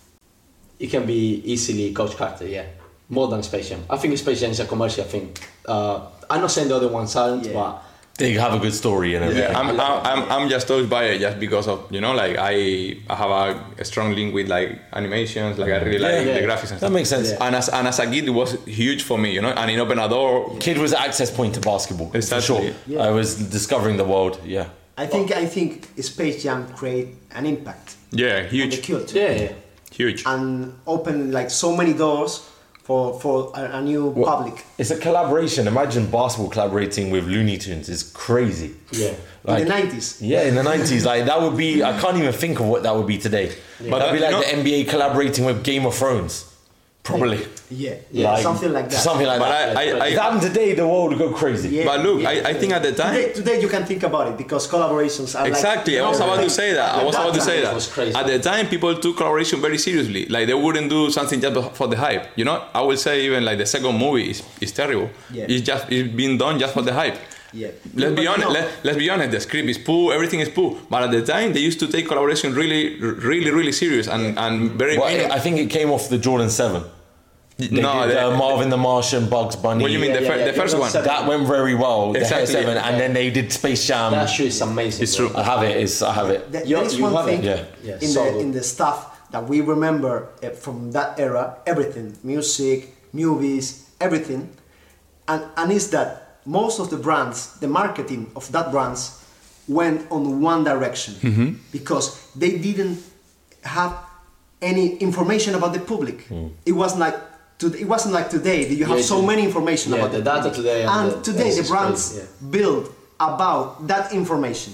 it can be easily Coach Carter, yeah, more than Space Jam. I think Space Jam is a commercial thing. I'm not saying the other ones aren't, but They have a good story and everything. Yeah, I'm just touched by it just because of like I have a strong link with like animations, like I really like the graphics and stuff. That makes sense. Yeah. And as a kid, it was huge for me, and it opened a door. Kid was the access point to basketball. Exactly. For sure. Yeah. I was discovering the world. Yeah. I think Space Jam create an impact Yeah, on the huge, culture yeah. huge. and open like so many doors for a new public. It's a collaboration. Imagine basketball collaborating with Looney Tunes. It's crazy. Yeah. Like, in the 90s. Yeah, in the 90s. Like that would be, I can't even think of what that would be today. But that'd be like the NBA collaborating with Game of Thrones. Probably. Yeah, something like that. Something like But that. I- If that happened today, the world would go crazy. Yeah, But look, yeah. I think at the time. Today you can think about it because collaborations are Exactly, like, I was about to say that. I was about to say It was that. crazy. At the time, people took collaboration very seriously. Like they wouldn't do something just for the hype. I would say even like the second movie is terrible. Yeah. It's been done just for the hype. Yeah. Let's But be you honest. know- Let's be honest. The script is poor. Everything is poor. But at the time, they used to take collaboration really, really, really serious and very. Well, I think it came off the Jordan 7. They did, Marvin the Martian, Bugs Bunny. What do you mean the first Jordan one? 7. That went very well. The Exactly. Hair 7, and then they did Space Jam. That show is amazing. It's bro. true. I have it. I have it. There You- is you one have thing it? Yeah. Yeah, so good. in the stuff that we remember from that era, everything, music, movies, everything, and is that most of the brands, the marketing of that brands went on one direction because they didn't have any information about the public. It wasn't like today that you have Yeah, so many information yeah, about the the data public. today and today this the is brands crazy, build about that information.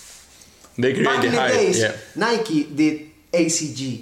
They create Back the in the hype. days, Yeah. Nike did ACG,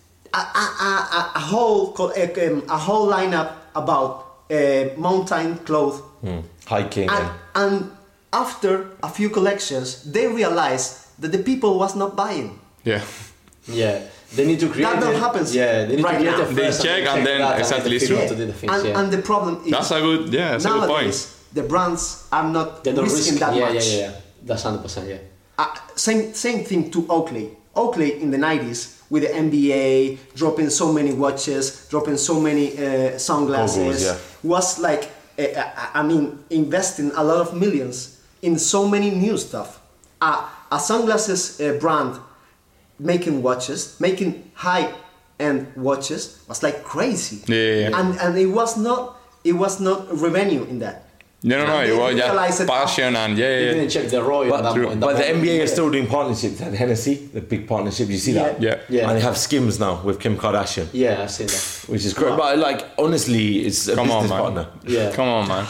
a whole lineup about mountain clothes, Hiking. and after a few collections, they realized that the people was not buying. Yeah. Yeah, they need to create. That happens. Yeah, they need right to create now. it first. They check and then exactly it's true. to do the things. And the problem is That's a good point. nowadays the brands are not They don't risking risk that yeah, much. Yeah. That's 100%. Yeah. Same thing to Oakley. Oakley in the 90s with the NBA dropping so many watches, dropping so many sunglasses, Goggles, yeah. was like investing a lot of millions in so many new stuff. A sunglasses brand making watches, making high-end watches was like crazy. Yeah. And it was not revenue in that. No, And it they was realized just it passion and You yeah. didn't check the ROI. But, in that but the moment. NBA Yeah. is still doing partnerships. And Hennessy, the big partnership, you see that? Yeah. Yeah. And they have Skims now with Kim Kardashian, Yeah, I've seen that. which is great. But like, honestly, it's a Come on, business man. partner. Yeah. Come on, man.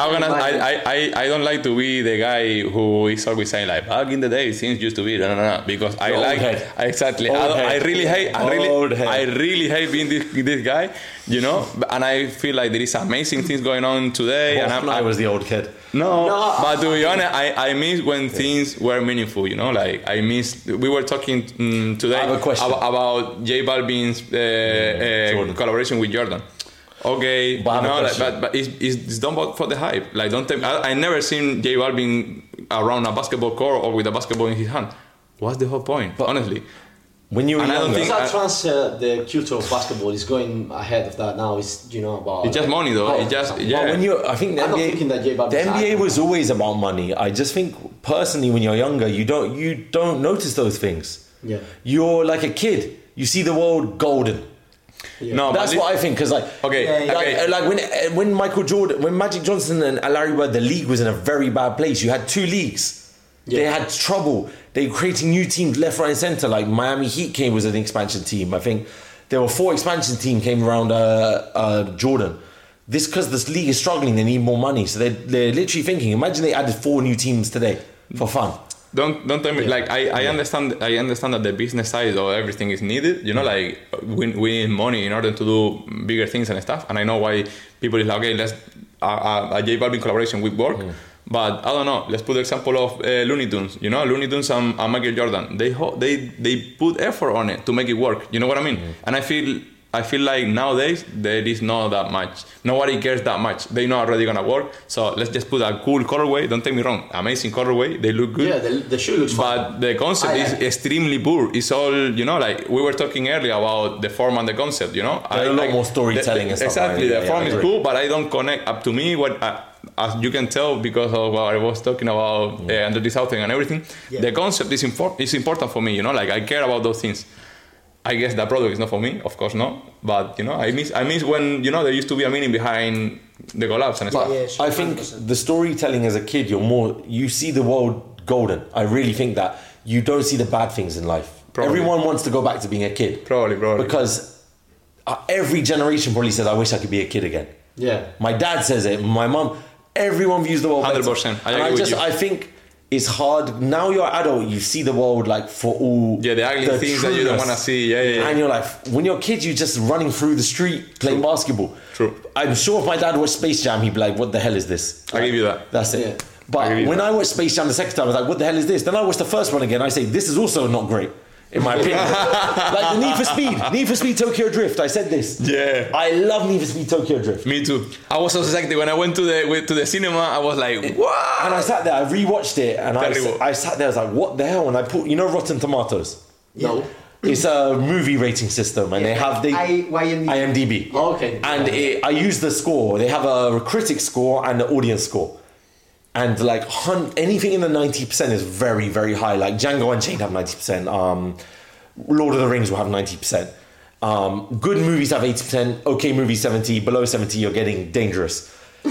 I don't like to be the guy who is always saying like back in the day things used to be no because I Old like head. exactly Old I head. really hate Old head. I really hate being this guy, you know. And I feel like there is amazing things going on today, and I was the old kid. No, but to be honest, I miss when things were meaningful, you know. Like I miss. We were talking today I have a question. about J Balvin's collaboration with Jordan. Okay, But I have a you know, like, question. but it's done for the hype. Like, don't tell me. I never seen J Balvin around a basketball court or with a basketball in his hand. What's the whole point? Honestly, When you were And I don't younger, think- Because that transfer, the culture of basketball is going ahead of that now. It's about. it's just money, though. It's just But yeah. when you, I think the I'm not NBA, thinking that J Balvin's the NBA acting. was always about money. I just think personally, when you're younger, you don't notice those things. Yeah. You're like a kid. You see the world golden. No, That's but what I think. Because like, Okay, like when Michael Jordan, when Magic Johnson and Larry Bird, the league was in a very bad place. You had two leagues. Yeah. They had trouble. They were creating new teams left, right, and center. Like Miami Heat was an expansion team. I think there were 4 expansion teams came around Jordan. This because this league is struggling. They need more money, so they're literally thinking. Imagine they added 4 new teams today for fun. Don't tell me like I understand that the business side of everything is needed, you know, like we need money in order to do bigger things and stuff, and I know why people is like, okay, let's a J Balvin collaboration with work, but I don't know, let's put the example of Looney Tunes, you know, Looney Tunes and Michael Jordan, they put effort on it to make it work, you know what I mean? And I feel like nowadays there is not that much. Nobody cares that much. They know already gonna work. So let's just put a cool colorway. Don't take me wrong, amazing colorway. They look good. Yeah, the shoe looks fun. But the concept is extremely poor. It's all, you know, like we were talking earlier about the form and the concept, you know. There's a lot more storytelling and stuff. Exactly, Yeah, the yeah, form I is agree. cool, but I don't connect up to me what. As you can tell, because of what I was talking about under this outing and everything, the concept is important for me. You know, like I care about those things. I guess that product is not for me, of course not. But you know, I miss when you know there used to be a meaning behind the collabs and stuff. Yeah, sure, I think 100%. the storytelling as a kid, you see the world golden. I really think that you don't see the bad things in life. Probably. Everyone wants to go back to being a kid. Probably. Because every generation probably says, I wish I could be a kid again. Yeah. My dad says it, my mum, everyone views the world 100%. better. I And agree with you. I think it's hard. Now you're adult, you see the world like for all Yeah, the ugly things that you don't want to see. Yeah. And you're like, when you're kids, you're just running through the street playing basketball. True. I'm sure if my dad watched Space Jam, he'd be like, what the hell is this? I give you that. That's it. Yeah. I But give you when that. I watched Space Jam the second time, I was like, what the hell is this? Then I watched the first one again. I say, this is also not great, in my opinion. Like the Need for Speed Tokyo Drift. I said this. Yeah. I love Need for Speed Tokyo Drift. Me too. I was so excited when I went to the cinema. I was like, what? And I sat there, I rewatched it, and Terrible. I sat there, I was like, what the hell? And I put, Rotten Tomatoes. No. It's a movie rating system, and they have IMDb. IMDb. Oh, okay. And I use the score. They have a critic score and an audience score. And like anything in the 90% is very, very high. Like Django Unchained have 90%. Lord of the Rings will have 90%. Good movies have 80%. Okay movies 70%. Below 70%, you're getting dangerous.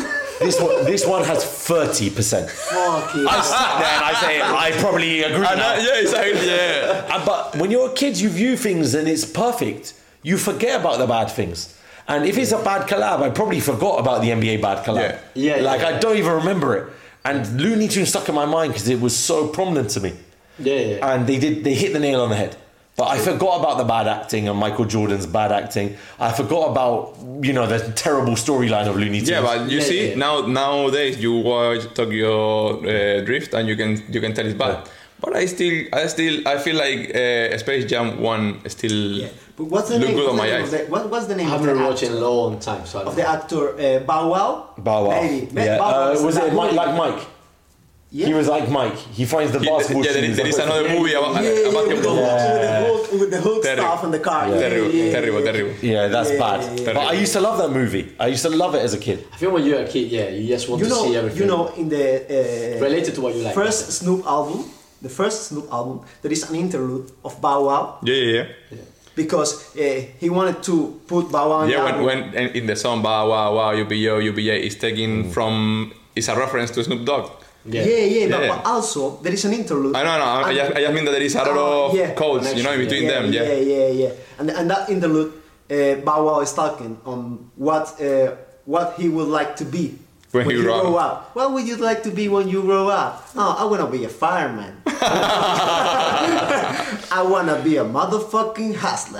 This one has 30%. Fuck it. I sat there and I say, I probably agree now. Yeah, exactly. Yeah. But when you're a kid, you view things and it's perfect. You forget about the bad things. And if it's a bad collab, I probably forgot about the NBA bad collab. Yeah. Like, I don't even remember it. And Looney Tunes stuck in my mind because it was so prominent to me. Yeah. And they hit the nail on the head. But I forgot about the bad acting and Michael Jordan's bad acting. I forgot about, the terrible storyline of Looney Tunes. Yeah, but you see, nowadays you watch Tokyo Drift and you can tell it's bad. But I feel like Space Jam 1 still But what's the look name? good on my eyes. What's the name? I haven't been watching in a long time, so I don't of the know. actor Bow Wow. Bow Wow. Maybe. Yeah. Bow Wow Was it movie. like Mike? Yeah. He was like Mike. He finds the basketball Yeah, shoes. there is another movie about basketball. With the hook Terrible. stuff in the car. Terrible. Yeah, that's bad. yeah. But I used to love that movie. I used to love it as a kid. I feel when you're a kid, yeah, you just want to see everything. You know, in the related to what you like. first Snoop album, there is an interlude of Bow Wow Yeah. because he wanted to put Bow Wow. Yeah, when in the song Bow Wow, UBA is taken from, it's a reference to Snoop Dogg. Yeah. But also there is an interlude. I know. I just mean that there is a lot of codes, in between them. Yeah. And that interlude, Bow Wow is talking on what he would like to be when he grow up. What would you like to be when you grow up? Oh, I wanna be a fireman. I wanna be a motherfucking hustler.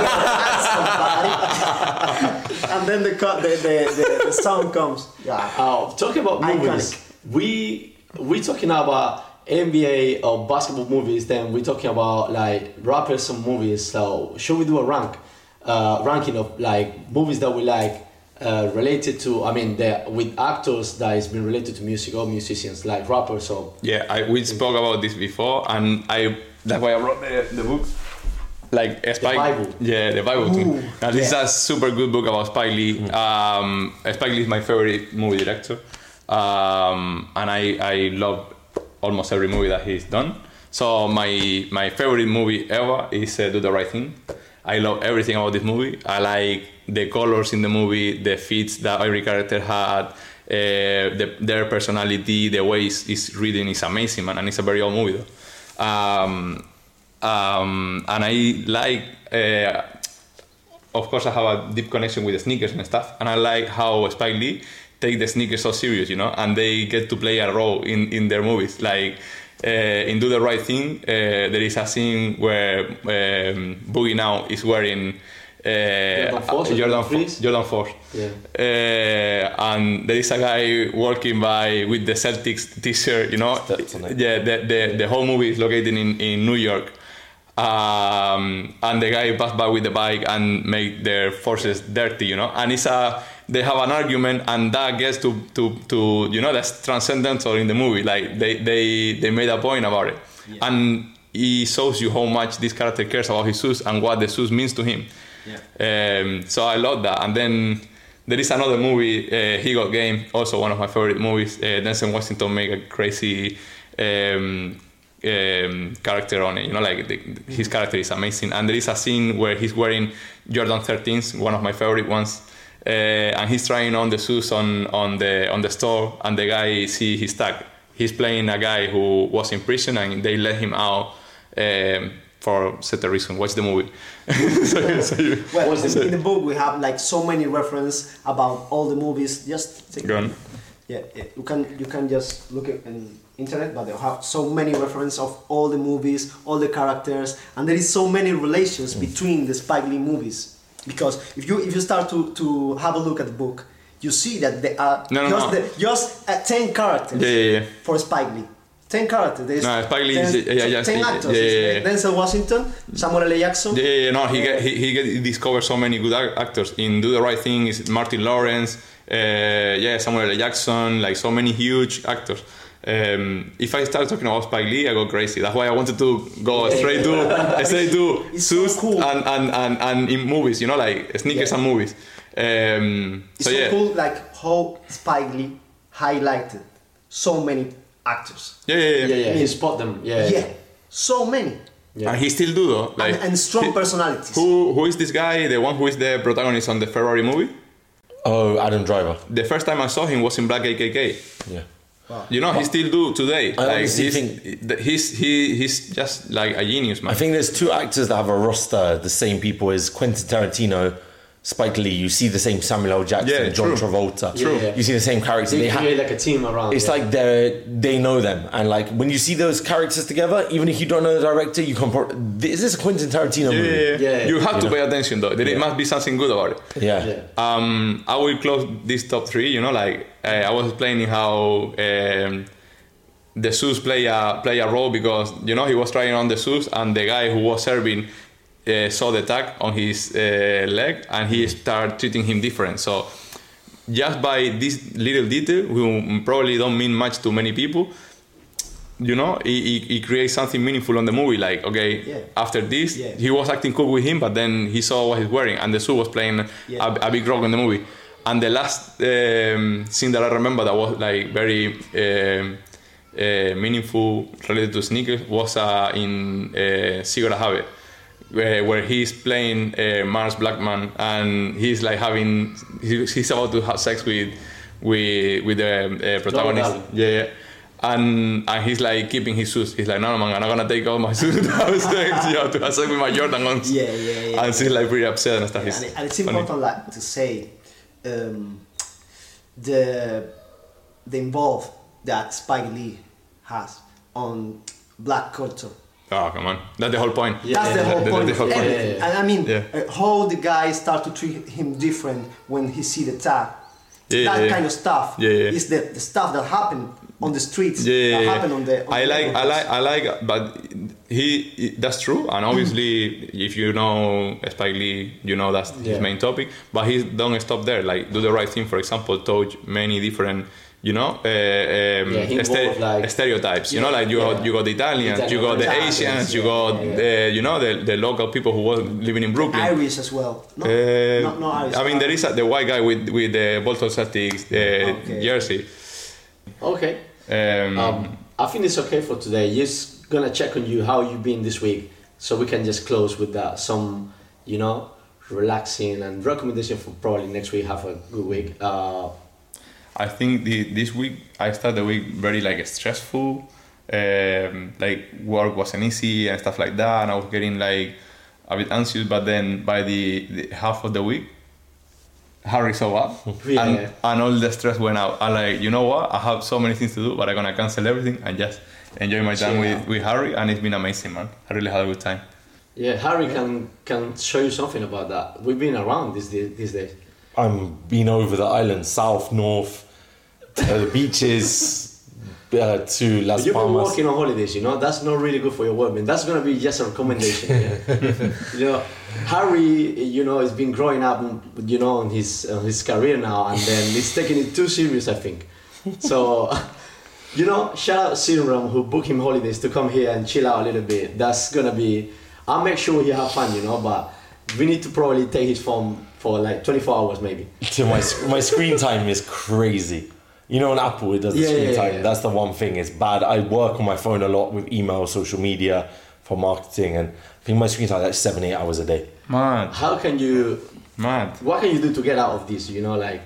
And then the song comes. Yeah. Talking about movies, Iconic. we talking about NBA or basketball movies. Then we talking about like rappers and movies. So should we do a ranking of like movies that we like related to? I mean, with actors that has been related to music or musicians like rappers or. Yeah, we spoke about this before, and that's why I wrote the book. Like Spike, Bible. Yeah, the Bible too. Ooh, Now this is a super good book about Spike Lee. Spike Lee is my favorite movie director, and I love almost every movie that he's done. So my favorite movie ever is Do the Right Thing. I love everything about this movie. I like the colors in the movie, the fits that every character had, their personality, the way it's written is amazing, man, and it's a very old movie though. And I like, of course, I have a deep connection with the sneakers and stuff, and I like how Spike Lee take the sneakers so serious, and they get to play a role in their movies. Like in Do the Right Thing, there is a scene where Boogie Now is wearing Jordan 4. Yeah. And there is a guy walking by with the Celtics t-shirt, Yeah, the whole movie is located in New York. And the guy passed by with the bike and make their forces dirty, And they have an argument, and that gets to that's transcendental in the movie. Like they made a point about it, and it shows you how much this character cares about his shoes and what the shoes means to him. Yeah. So I love that. And then there is another movie, He Got Game, also one of my favorite movies. Denzel Washington make a crazy character on it. His character is amazing. And there is a scene where he's wearing Jordan 13s, one of my favorite ones. And he's trying on the shoes on the store, and the guy see his tag. He's playing a guy who was in prison, and they let him out for certain reason. Watch the movie. In the book we have like so many references about all the movies. Just take Go on. Yeah, you can just look at in internet, but they have so many references of all the movies, all the characters, and there is so many relations between the Spike Lee movies. Because if you start to have a look at the book, you see that there are just 10 characters for Spike Lee. 10 characters. There's Spike Lee is 10 actors. Denzel Washington, Samuel L. Jackson. He discovered so many good actors. In Do the Right Thing is Martin Lawrence, Samuel L. Jackson, like so many huge actors. If I start talking about Spike Lee, I go crazy. That's why I wanted to go straight to suits so cool. and in movies, like sneakers and movies. It's so cool, like how Spike Lee highlighted so many actors. Yeah. He spot them. Yeah. So many. Yeah. And he still do though. Like, and strong personalities. Who is this guy? The one who is the protagonist on the Ferrari movie? Oh, Adam Driver. The first time I saw him was in Black KKK. Yeah. Wow. He still do today. Think he's just like a genius, man. I think there's two actors that have a roster the same people as Quentin Tarantino, Spike Lee. You see the same Samuel L. Jackson, John Travolta. True. You see the same characters. They create like a team around. It's like they know them, and like when you see those characters together, even if you don't know the director, you can. Is this a Quentin Tarantino movie? Yeah. You have to pay attention though. There must be something good about it. Yeah. I will close this top 3. I was explaining how the shoes play a role because he was trying on the shoes and the guy who was serving saw the tag on his leg and he started treating him different. So just by this little detail, who probably don't mean much to many people, he creates something meaningful on the movie. Like, after this, he was acting cool with him, but then he saw what he's wearing, and the suit was playing a big role in the movie. And the last scene that I remember that was like very meaningful related to sneakers was in Sigurd Habe, where he's playing Mars Blackman, and he's like he's about to have sex with the protagonist. And he's like keeping his shoes. He's like, no man, I'm not gonna take all my shoes to have sex. You have to have sex with my Jordan ones. And she's like pretty upset and stuff. And it's important like to say the involve that Spike Lee has on black culture. Oh, come on. That's the whole point. That's the whole point. And I mean, how the guys start to treat him different when he see the tag. That kind of stuff is the stuff that happened on the streets. That happened on the I like, but that's true. And obviously, if you know Spike Lee, that's his main topic. But he don't stop there. Like, Do the Right Thing, for example, touch many different stereotypes. Like you got the Italians, you got the Asians, you got the local people who was living in Brooklyn. Irish as well. No Irish. I mean, there is the white guy with the Boston Celtics jersey. Okay. I think it's okay for today. Just gonna check on you how you been this week, so we can just close with that. Some relaxing and recommendation for probably next week. Have a good week. I think this week I started the week very stressful, like work wasn't easy and stuff like that, and I was getting like a bit anxious. But then by the half of the week, Harry showed up, and all the stress went out. I'm like, you know what? I have so many things to do, but I'm gonna cancel everything and just enjoy my time with Harry, and it's been amazing, man. I really had a good time. Yeah, Harry can show you something about that. We've been around these days. I've been over the island, south, north, the beaches, to Las Palmas. You've been working on holidays, that's not really good for your work, man. That's gonna be just a recommendation. Harry, has been growing up, on his career now, and then he's taking it too serious, I think. So, shout out Serum who booked him holidays to come here and chill out a little bit. That's gonna be. I'll make sure he have fun, but we need to probably take his phone for like 24 hours maybe. My screen time is crazy. On Apple it does the screen time. Yeah. That's the one thing. It's bad. I work on my phone a lot with email, social media for marketing, and I think my screen time is like 7-8 hours a day. Man. How can you... Man. What can you do to get out of this,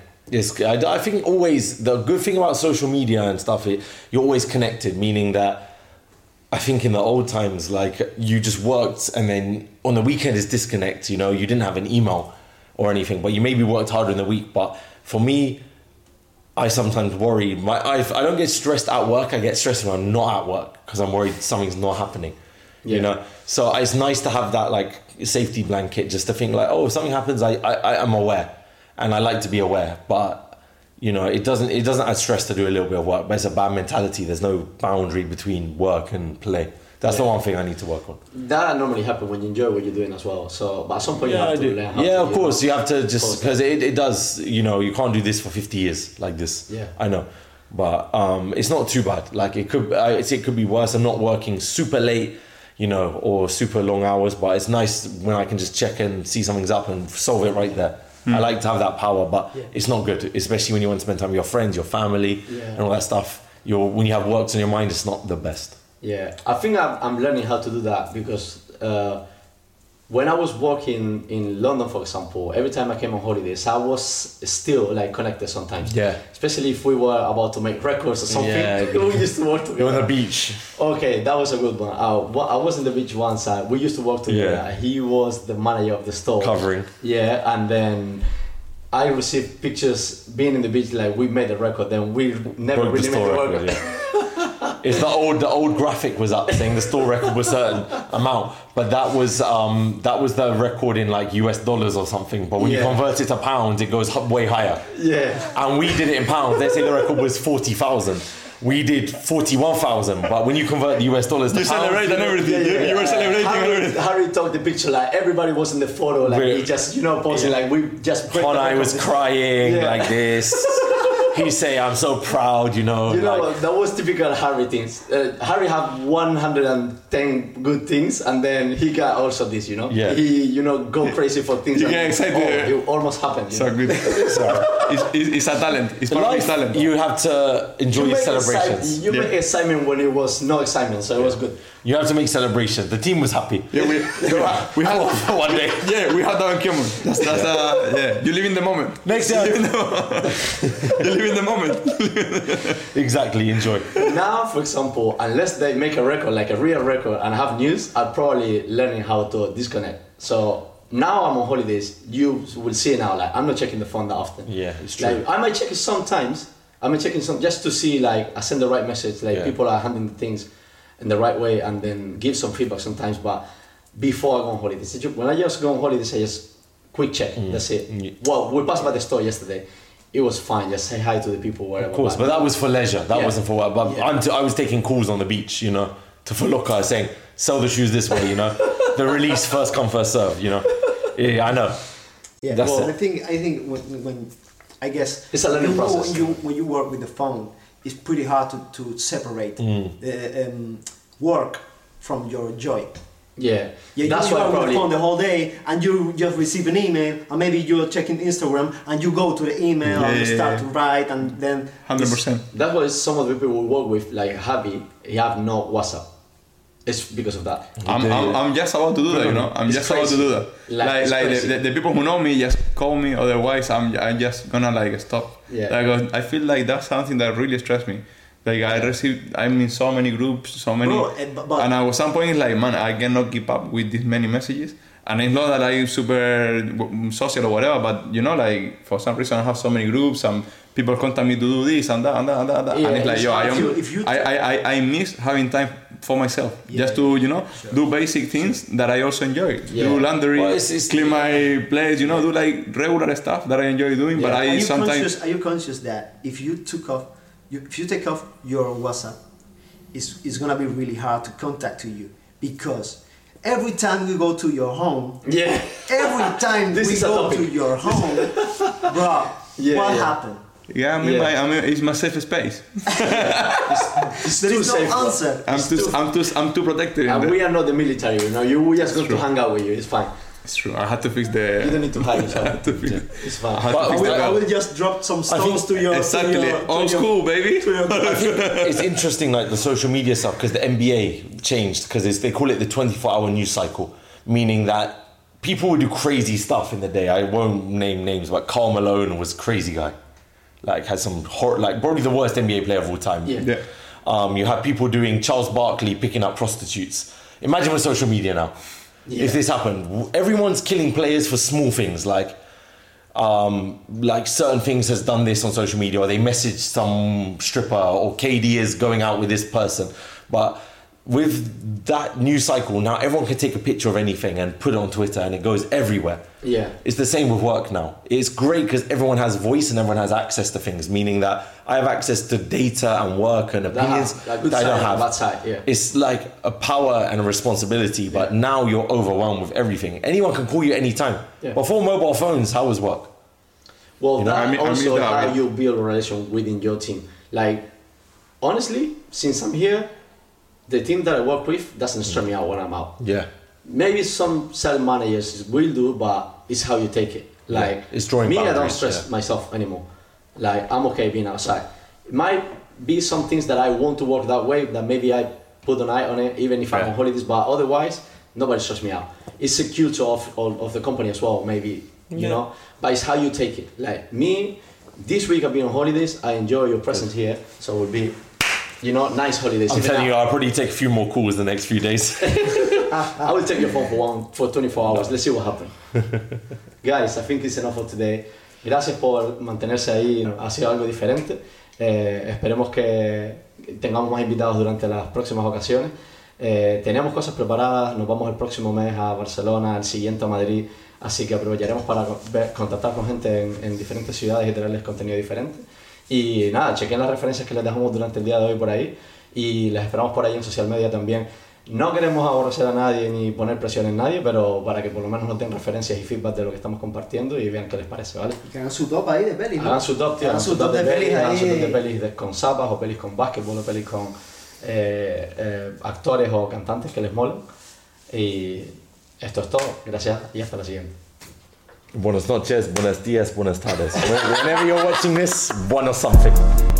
I think always, the good thing about social media and stuff, you're always connected, meaning that I think in the old times, you just worked and then on the weekend is disconnect, you didn't have an email or anything, but you maybe worked harder in the week. But for me, I sometimes worry. I don't get stressed at work. I get stressed when I'm not at work because I'm worried something's not happening. So it's nice to have that safety blanket, just to think if something happens, I am aware, and I like to be aware. But it doesn't add stress to do a little bit of work. But it's a bad mentality. There's no boundary between work and play. That's the one thing I need to work on. That normally happens when you enjoy what you're doing as well. So, but at some point you have to learn how to. Yeah, of course. You have to just... Because it does... You can't do this for 50 years like this. Yeah. I know. But it's not too bad. It could be worse. I'm not working super late, or super long hours. But it's nice when I can just check and see something's up and solve it right there. I like to have that power, but it's not good. Especially when you want to spend time with your friends, your family, and all that stuff. When you have works on your mind, it's not the best. Yeah, I think I'm learning how to do that because when I was working in London, for example, every time I came on holidays, I was still connected sometimes. Yeah. Especially if we were about to make records or something. Yeah. We used to work together. You're on the beach. Okay, that was a good one. I was in the beach once. We used to work together. Yeah. He was the manager of the store. Covering. Yeah, and then I received pictures being in the beach, we made a record, then we never really made the record. It's the old graphic was up saying the store record was a certain amount, but that was the record in US dollars or something. But when you convert it to pounds, it goes way higher. Yeah. And we did it in pounds. They say the record was 40,000. we did 41,000, but when you convert the US dollars to You pounds, celebrate and everything. You were celebrating and everything. Harry took the picture, like everybody was in the photo, like he just, posing, like we just. Conai was crying like this. He say, "I'm so proud," that was typical Harry things. Harry had 110 good things, and then he got also this, Yeah. He, go crazy for things. You get excited. It almost happened. So good. It's a talent. It's part of his talent. You have to enjoy your celebrations. You make excitement when it was no excitement, so it was good. You have to make celebrations. The team was happy. Yeah, we had one day. Yeah, we had that in common. That's yeah. You live in the moment. Next year. You live in the moment. Exactly. Enjoy. Now, for example, unless they make a record, like a real record, and have news, I'm probably learning how to disconnect. So now I'm on holidays. You will see now, like I'm not checking the phone that often. Yeah, it's true. Like I might check it sometimes. just to see, like I send the right message. Like people are handling things in the right way, and then give some feedback sometimes. But before I go on holidays, when I just go on holidays, I just quick check. That's it. Well, we passed by the store yesterday. It was fine. Just say hi to the people wherever. Of course, but that was for leisure. That wasn't for work. But I was taking calls on the beach, to Faloka saying, "Sell the shoes this way," The release first come first serve, Yeah, I know. Yeah, That's it. I think when I guess it's a learning process. When you work with the phone, it's pretty hard to separate work from your joy. Yeah, that's why you are on the phone the whole day, and you just receive an email, and maybe you're checking Instagram, and you go to the email and you start to write, and then 100%. That's why some of the people we work with, like Javi, he have no WhatsApp. It's because of that. I'm just about to do that, I'm It's just crazy. about to do that. Like the people who know me just call me. Otherwise, I'm just gonna stop. Yeah. Like I feel like that's something that really stressed me. Like I'm in so many groups, so many, and at some point it's like, man, I cannot keep up with this many messages. And it's not that I'm super social or whatever, but like for some reason I have so many groups and people contact me to do this and that and that and that. Yeah, and it's like, I miss having time for myself, just to do basic things that I also enjoy. Do laundry, clean my place, do like regular stuff that I enjoy doing. But are you conscious that if you take off your WhatsApp, it's gonna be really hard to contact you, because every time we go to your home, every time we go to your home, bro, what happened? Yeah, I mean, it's my safe space. There is no answer. I'm too protected. And we are not the military, we just going to hang out with you. It's fine. It's true. I had to fix the. You don't need to hide yourself. It's fine. I will just drop some stones to your. Exactly. Old school, baby. I think it's interesting, like the social media stuff, because the NBA changed, because they call it the 24-hour news cycle, meaning that people would do crazy stuff in the day. I won't name names, but Karl Malone was a crazy guy. Like had some probably the worst NBA player of all time. Yeah. You have people doing Charles Barkley picking up prostitutes. Imagine with social media now. Yeah. If this happened, everyone's killing players for small things like certain things has done this on social media, or they message some stripper, or KD is going out with this person. But with that news cycle, now everyone can take a picture of anything and put it on Twitter, and it goes everywhere. Yeah. It's the same with work now. It's great because everyone has voice and everyone has access to things, meaning that I have access to data and work and opinions that I don't have. That side, yeah. It's like a power and a responsibility, but now you're overwhelmed with everything. Anyone can call you anytime. Yeah. Before mobile phones, how was work? Well, also how you build a relation within your team. Like, honestly, since I'm here, the team that I work with doesn't stress me out when I'm out. Yeah. Maybe some sales managers will do, but it's how you take it. Like, it's drawing me, boundaries, I don't stress myself anymore. Like, I'm okay being outside. It might be some things that I want to work that way, that maybe I put an eye on it, even if I'm on holidays, but otherwise, nobody stresses me out. It's a culture of the company as well, maybe, you know, but it's how you take it. Like, me, this week I've been on holidays, I enjoy your presence here, so it will be, nice holidays. I'm telling you, I'll probably take a few more calls the next few days. I will take your phone for 24 hours. Let's see what happens. Guys, I think it's enough for today. Gracias por mantenerse ahí. Ha sido algo diferente. Esperemos que tengamos más invitados durante las próximas ocasiones. Tenemos cosas preparadas. Nos vamos el próximo mes a Barcelona, el siguiente a Madrid. Así que aprovecharemos para contactar con gente en diferentes ciudades y traerles contenido diferente. Y nada, chequen las referencias que les dejamos durante el día de hoy por ahí y les esperamos por ahí en social media también. No queremos aborrecer a nadie ni poner presión en nadie, pero para que por lo menos nos den referencias y feedback de lo que estamos compartiendo y vean qué les parece, ¿vale? Y que hagan su top ahí de pelis, ¿no? Hagan su top, tío. Hagan su top de pelis hagan ahí. su top de pelis con zapas o pelis con básquetbol o pelis con actores o cantantes que les molen. Y esto es todo. Gracias y hasta la siguiente. Buenas noches, buenos días, buenas tardes. Whenever you're watching this, buenos something.